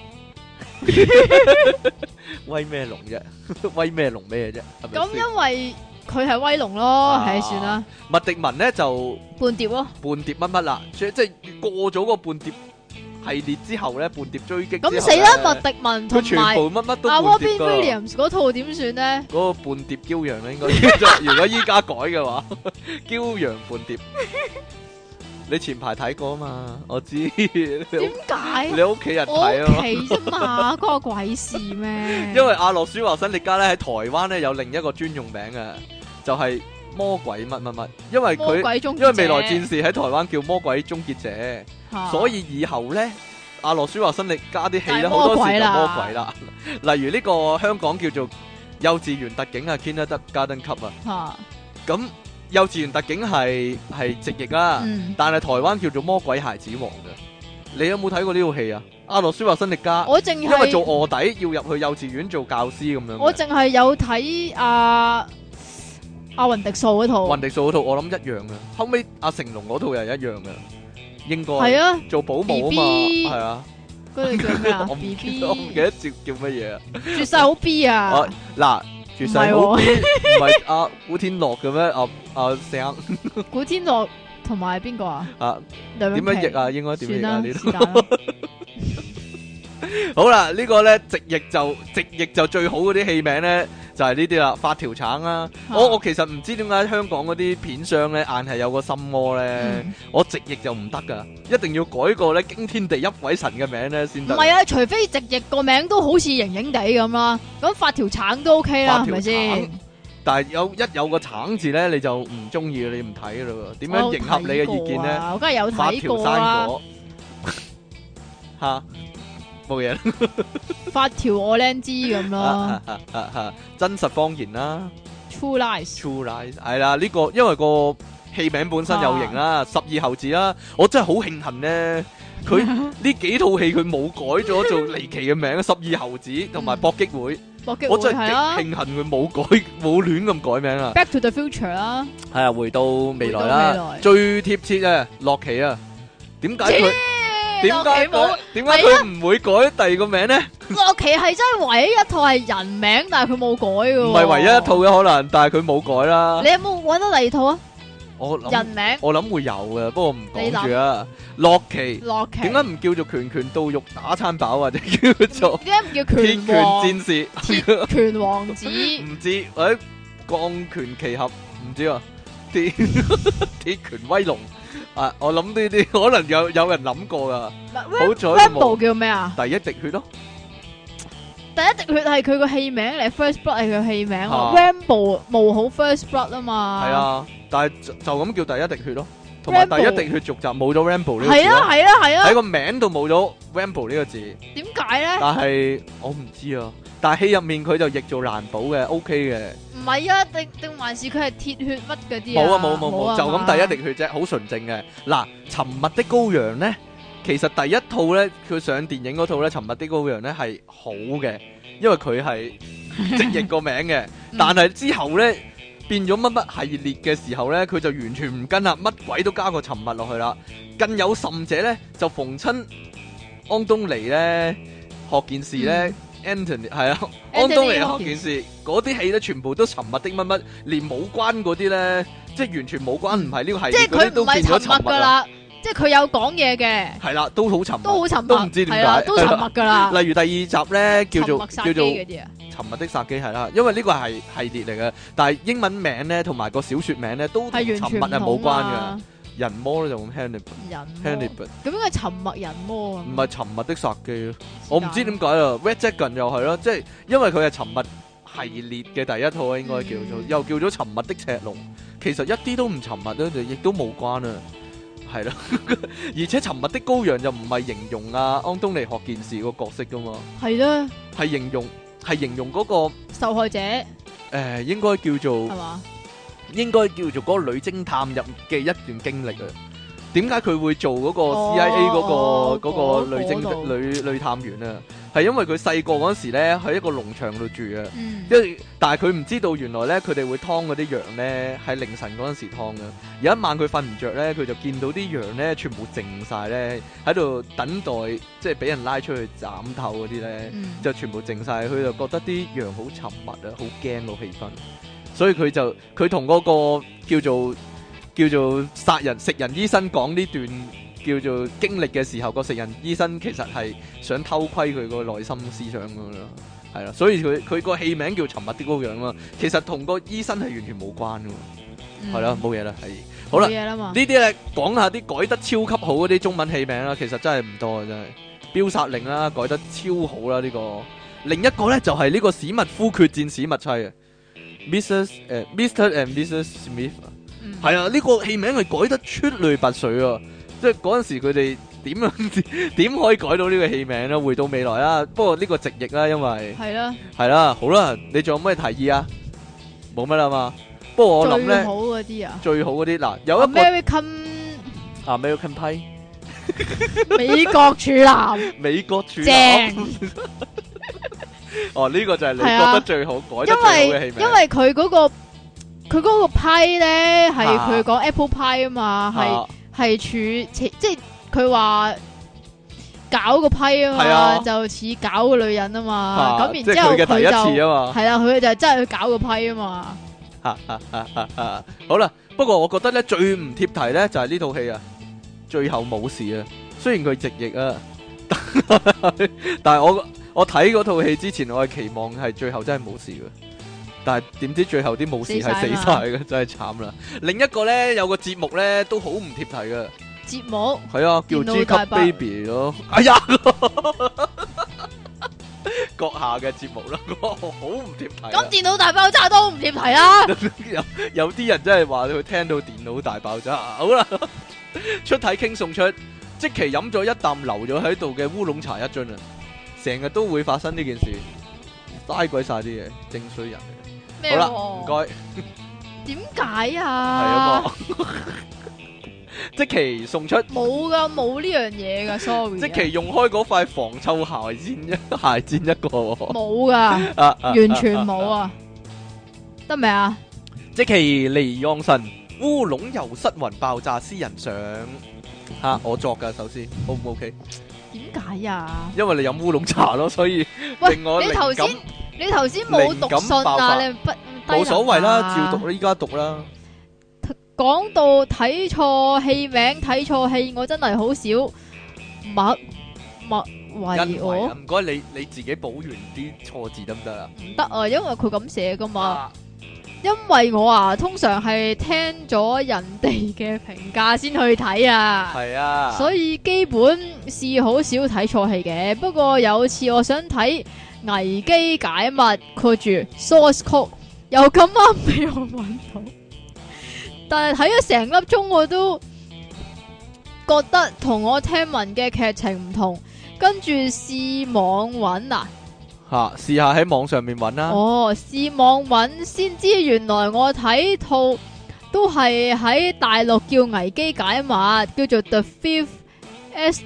威咩龍啫，威咩龍咩啫，係咪？ 咁因為佢係威龍咯，係算啦。 麥迪文咧就叛諜咯， 叛諜乜乜啦，即係過咗個叛諜系列之後咧，叛諜追擊咁死啦，麥迪文同佢全埋部乜都阿叛諜 Robin 㗎。 Williams 嗰套點算咧？ 嗰個叛諜驕陽咧，應該叫做如果依家改嘅話，驕陽叛諜。你前排睇過啊嘛？我知。 點解？ 你屋企人我睇啊嘛？ 屋企啫嘛，關我鬼事咩？ 因為阿諾舒華辛力加咧喺台灣咧有另一個專用名啊，就係魔鬼乜乜乜，因為魔鬼終結者因為未來戰士喺台灣叫魔鬼終結者， 嚇所以以後咧阿諾舒華辛力加啲戲咧就係好多時就魔鬼啦魔鬼啦。例如呢個香港叫做幼稚園特警啊 ，Kindergarten Cop 啊， 嚇， 咁幼稚園特警係直譯啦， 嗯， 但係台灣叫做魔鬼孩子王嘅。你有冇睇過呢套戲啊？阿諾舒華辛力加。 我淨因為做係卧底要入去幼稚園做教師咁樣嘅。 我淨係有睇阿雲迪素嗰套， 雲迪素嗰套我諗一樣嘅，後尾阿成龍嗰套又係一樣嘅，應該係啊， 做保姆啊嘛， BB 係啊， 嗰套叫咩啊我唔 ？B 記 B 得我唔記得叫乜嘢啊？ 絕世好 B 啊我！嗱，絕世好 B 唔係阿古天樂嘅咩？阿聲古天樂同埋邊個啊？ 啊， 梁詠琪點樣譯啊？應該點算啦， 譯啊？呢度是但啦。 好啦，呢個咧直譯就最好嗰啲戲名咧就係呢啲啦，發條橙啦。我其實唔知點解香港嗰啲片商咧硬係有個心魔咧， 嗯我直譯就唔得噶，一定要改個咧驚天地泣鬼神嘅名咧先得。 唔係啊，除非直譯個名都好似型型地咁啦，咁發條橙都 OK 啦，係發條咪先橙？但係有個橙字咧，你就唔中意，你唔睇噶啦喎。點樣迎合你嘅意見咧？ 我梗係有睇發條生過啦。 果吓冇嘢啦。 發條我靚知咁咯真實謊言啦。 ，True Lies。 True Lies 係啦，呢個因為個戲名本身有型啦，十二猴子啦，我真係好慶幸咧，佢呢幾套戲佢冇改咗做離奇嘅名，十二猴子同埋搏擊會， 搏擊我真係極會係啊慶幸佢冇亂咁改名啊！ ，Back to the Future 啦， 係啊，回到未來回到啦未，來最貼切啊，洛奇啊，點解佢點解洛奇冇佢點解佢唔會改第二個名咧？ 洛奇係真係唯一一套係人名，但係佢冇改嘅喎。 唔係唯一一套嘅可能，但係佢冇改啦你。有冇揾到第二套啊？ 我諗人名我諗會有嘅，不過唔講住啊。洛奇。 洛奇點解唔叫做拳拳到肉打餐飽，或者叫做點解唔叫鐵拳拳王？ 戰士？ 鐵拳王子唔知或者鋼拳奇俠，唔知啊。鐵鐵拳威龍啊！我諗呢啲可能有人諗過噶。好彩佢冇 Rambo 叫咩啊？ 第一滴血咯。 第一滴血係佢個戲名嚟，First Blood 係佢戲名啊 ，Rambo 冇好 First Blood 啊嘛。 係啊，但係就咁叫第一滴血咯。同埋第 Rambo 一滴血續集冇咗 Rambo 呢個字係啊咯， 係啊係啊， 喺個名度冇咗 Rambo 呢個字。 點解咧？ 但係我唔知啊。但係戲入面佢就譯做難保嘅，OK 嘅。 唔係啊，定還是佢係鐵血乜嗰啲冇啊啊？ 冇，就咁第一滴血啫，好純正嘅。嗱，沉默的羔羊咧，其實第一套咧，佢上電影嗰套咧，沉默的羔羊咧係好嘅，因為佢係直譯個名嘅。但係之後咧變咗乜乜系列嘅時候咧，佢就完全唔跟啦，乜鬼都加個沉默落去啦。更有甚者咧，就逢親安東尼咧學件事咧。Anthony 係啊，安東尼學件事嗰啲戲咧，全部都沉默的乜乜，連冇關嗰啲咧，即係完全冇關，唔係呢個系即係列嗰啲佢唔係都變咗沉默噶啦。 啦，即係佢有講嘢嘅， 係啦，都好沉默， 都好沉默， 都唔知點解係啦都沉默噶啦。 例如第二集咧，叫做沉默殺機嗰啲啊， 沉默的殺機係啦，因為呢個係系列嚟嘅，但係英文名咧同埋個小說名咧都同係完全沉默係冇唔同關啊嘅。人魔咧就咁 Hannibal， 咁應該沉默人魔啊？ 唔係沉默的殺機咯，我唔知點解啦。Red Dragon 又係咯，即係因為佢係沉默系列嘅第一套，應該叫做又叫咗沉默的赤龍，其實一啲都唔沉默咧，就亦都冇關啊，係咯。而且沉默的羔羊就唔係形容啊安東尼學件事個角色噶嘛， 係啦， 係形容嗰個受害者應該叫做係嘛？ 應該叫做嗰個女偵探入嘅一段經歷啊。點解佢會做嗰個 CIA 嗰個女探員啊？係因為佢細個嗰時咧喺一個農場度住啊。但係佢唔知道原來咧佢哋會劏嗰啲羊咧喺凌晨嗰陣時劏嘅。有一晚佢瞓唔着咧，佢就見到啲羊咧全部靜晒咧喺度等待，即係俾人拉出去斬頭嗰啲咧，就全部靜晒。佢就覺得啲羊好沉默啊，好驚個氣氛。所以佢同嗰個叫做殺人食人醫生講呢段叫做經歷嘅時候，個食人醫生其實係想偷窺佢個內心思想咁樣咯，係啦，所以佢個戲名叫沉默的羔羊咯，其實同個醫生係完全冇關噶，係啦，冇嘢啦，係好啦，呢啲咧講下啲改得超級好嗰啲中文戲名啦，其實真係唔多啊，真係標殺令啦，改得超好啦呢個，另一個咧就係呢個史密夫決戰史密妻啊 ，Mr. and Mrs. Smith。係啊，呢個戲名係改得出類拔萃啊！即係嗰陣時佢哋點可以改到呢個戲名咧？回到未來啊！不過呢個直譯啦，因為係啦，好啦，你仲有咩提議啊？冇乜啦嘛。不過我諗咧，最好嗰啲嗱，有一個 American Pie， 美國處男， 美國處男。哦，呢個就係你覺得最好改得最好嘅戲名， 因為佢嗰個派咧係佢講 Apple Pie 啊嘛，係即係佢話搞個批啊嘛，就似搞個女人啊嘛，咁然之後佢就係啦，佢就真係去搞個批啊嘛。 好啦，不過我覺得咧最唔貼題咧就係呢套戲啊，最後冇事啊，雖然佢直譯啊，但係我睇嗰套戲之前，我係期望係最後真係冇事嘅。但係點知最後啲武士係死晒嘅，真係慘啦！另一個咧有個節目咧都好唔貼題嘅節目， 係啊，叫 G 級 Baby 咯。哎呀，閣下嘅節目啦，好唔貼題。 咁電腦大爆炸都唔貼題啦。 有啲人真係話佢聽到電腦大爆炸。好啦，出體傾送出，即期飲咗一啖留咗喺度嘅烏龍茶一樽啊！成日都會發生呢件事，嘥鬼晒啲嘢，正衰人嚟。好啦，唔該。 點解啊？ 係啊嘛，即期送出冇噶，冇呢樣嘢噶 ，sorry。 即期用開嗰塊防臭鞋墊一個， 冇噶，完全冇啊，得未啊？ 即期離岸神烏龍油失魂爆炸私人相吓，我作噶，首先 O 唔 OK？ 點解啊？ 因為你飲烏龍茶咯，所以令我靈感。 你頭先冇讀信啊？你冇所謂啦，照讀啦，依家讀啦。 講到睇錯戲名、睇錯戲，我真係好少默為我。 唔該，你自己補完啲錯字得唔得啊？ 唔得啊，因為佢咁寫噶嘛。因為我通常係聽咗人哋嘅評價先去睇啊。係啊，所以基本是好少睇錯戲嘅。不過有次我想睇危機解密，括住 source code 又咁啱俾我揾到，但係睇咗成粒鐘我都覺得同我聽聞嘅劇情唔同，跟住試網揾啊， 試下喺網上面揾啦。 試網揾先知原來我睇套都係喺大陸叫危機解密，叫做 The Fifth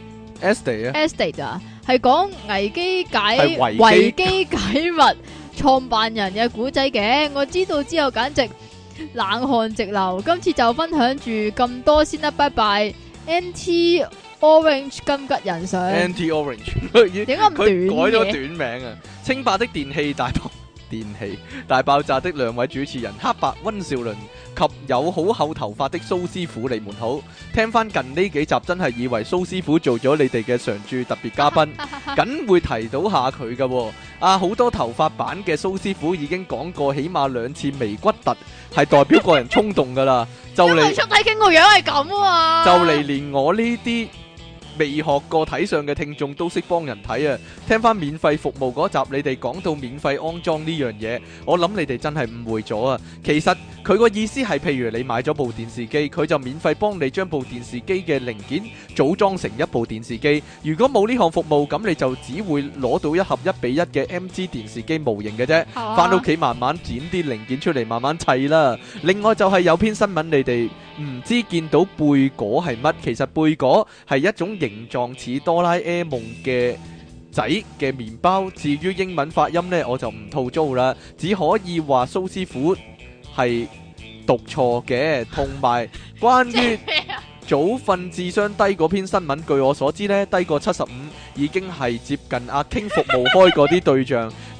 Estate 啊。係講危機解密創辦人嘅古仔嘅，我知道之後簡直冷汗直流。今次就分享住咁多先啦，拜拜。NT Orange 金吉人上 NT Orange 點解咁短嘅？ 佢改咗短名啊！清白的電氣大爆炸的兩位主持人黑白溫兆倫及有好厚頭髮的蘇師傅，你們好。聽翻近呢幾集真係以為蘇師傅做咗你哋嘅常駐特別嘉賓，梗會提到下佢㗎。好多頭髮版嘅蘇師傅已經講過起碼2次眉骨突係代表個人衝動噶啦，就嚟出體傾個樣係咁啊， 就嚟連我呢啲未學過睇相嘅聽眾都識幫人睇啊！聽翻免費服務嗰集，你哋講到免費安裝呢樣嘢，我諗你哋真係誤會咗啊！其實佢個意思係，譬如你買咗部電視機，佢就免費幫你將部電視機嘅零件組裝成一部電視機。如果冇呢項服務，咁你就只會攞到一盒1:1嘅 MG 電視機模型嘅啫，翻屋企慢慢剪啲零件出嚟，慢慢砌啦。另外就係有篇新聞，你哋唔知見到貝果係乜？其實貝果係一種形狀似哆啦 A 夢嘅仔嘅麵包。至於英文發音呢，我就唔吐槽啦，只可以話蘇師傅係讀錯嘅。同埋關於早瞓智商低嗰篇新聞，據我所知呢，低過75已經係接近阿 King 服務開嗰啲對象。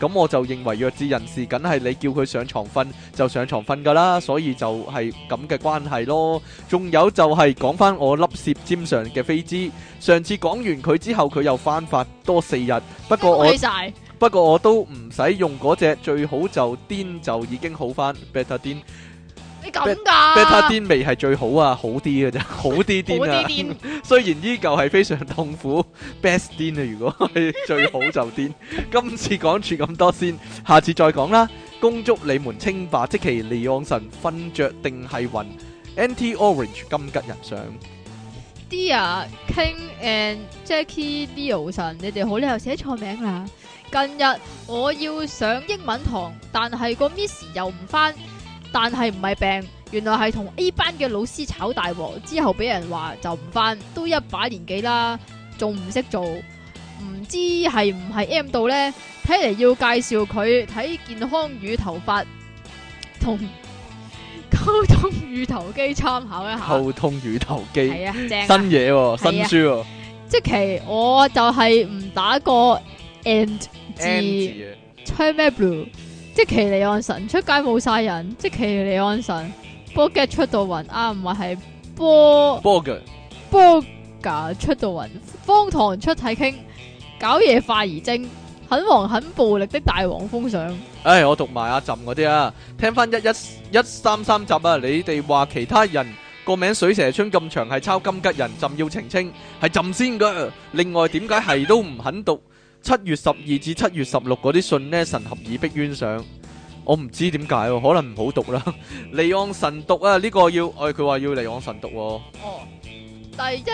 咁我就認為弱智人士梗係你叫佢上床瞓就上床瞓㗎啦，所以就係咁嘅關係咯。仲有就係講翻我粒舌尖上嘅飛枝，上次講完佢之後，佢又翻發多4日，不過我都唔使用嗰隻，最好就癲就已經好翻 ，better 癲。 你咁㗎 ？Beta 癲未係最好啊，好啲嘅啫，好啲癲啊！雖然依舊係非常痛苦，best 癲啊！如果係最好就癲。今次講住咁多先，下次再講啦。恭祝你們稱霸，積淇離岸神瞓着定係暈 ，Anti Orange 金吉人上。 Dear King and Jackie Leo 神，你哋好，你又寫錯名啦。近日我要上英文堂，但係個 Miss 又唔返。但係唔係病，原來係同 A 班嘅老師炒大鑊，之後俾人話就唔返，都一把年紀啦，仲唔識做，唔知係唔係 M 到呢？睇嚟要介紹佢睇健康與頭髮同溝通乳頭肌參考一下。 溝通乳頭肌係啊，正啊新嘢喎，新書喎。 即其我就係唔打個 and 字，吹咩 blue？即其離岸神出街冇晒人，即其離岸神波嘅出到暈啊，唔係波嘅出到暈，荒唐出體傾，搞嘢化而精，很黃很暴力的大黃蜂上。 唉，我讀埋阿朕嗰啲啊，聽翻133集啊，你哋話其他人個名水蛇春咁長係抄金吉人，朕要澄清係朕先噶。另外點解係都唔肯讀7月12至7月16嗰啲信呢？神合以逼冤上，我唔知點解，可能唔好讀啦。離岸神讀啊，呢個要，佢話要離岸神讀。哦， 第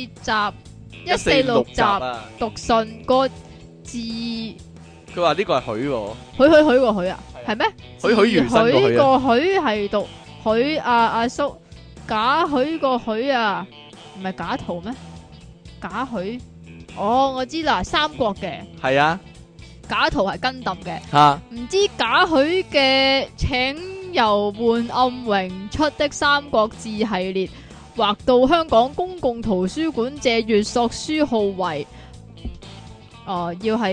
146集啊，讀信個字， 佢話呢個係許個許啊，係咩？ 許如新個許啊， 個許係讀許阿叔，假許個許啊，唔係假圖咩？假許。哦，我知啦，三國嘅係啊， 假圖係跟揼嘅吓， 唔知假許嘅請由換暗榮出的《三國志》系列，劃到香港公共圖書館借閱索書號為要係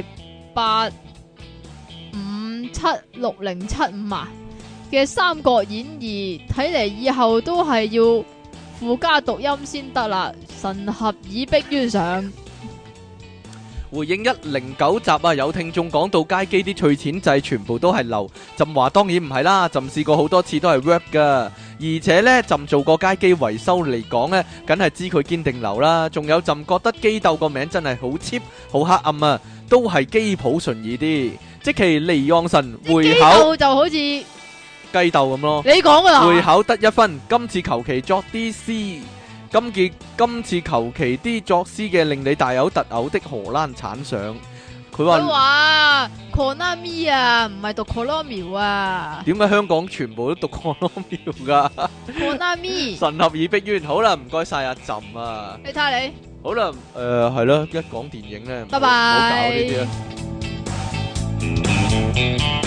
857675啊嘅《三國演義》，睇嚟以後都係要附加讀音先得啦，神合以逼冤上。 回應109集啊，有聽眾講到街機啲脆錢掣全部都係流，朕話當然唔係啦，朕試過好多次都係 work 噶，而且呢，朕做過街機維修嚟講呢，梗係知佢堅定流啦。仲有朕覺得機鬥個名真係好 cheap 好黑暗啊，都係機譜順意啲。即其離岸神會考就好似雞鬥咁咯， 你講噶啦， 會考得1分，今次求其作啲詩。今次求其啲作詩嘅令你大有特有的荷蘭產相，佢話 Konami 啊，唔係讀 Konami 啊？ 點解香港全部都讀 Konami 噶 ？Konami 神合以逼冤，好啦，唔該晒阿朕啊！ 你睇下你， 好啦，係咯，一講電影咧， 拜拜， 唔好搞呢啲啊！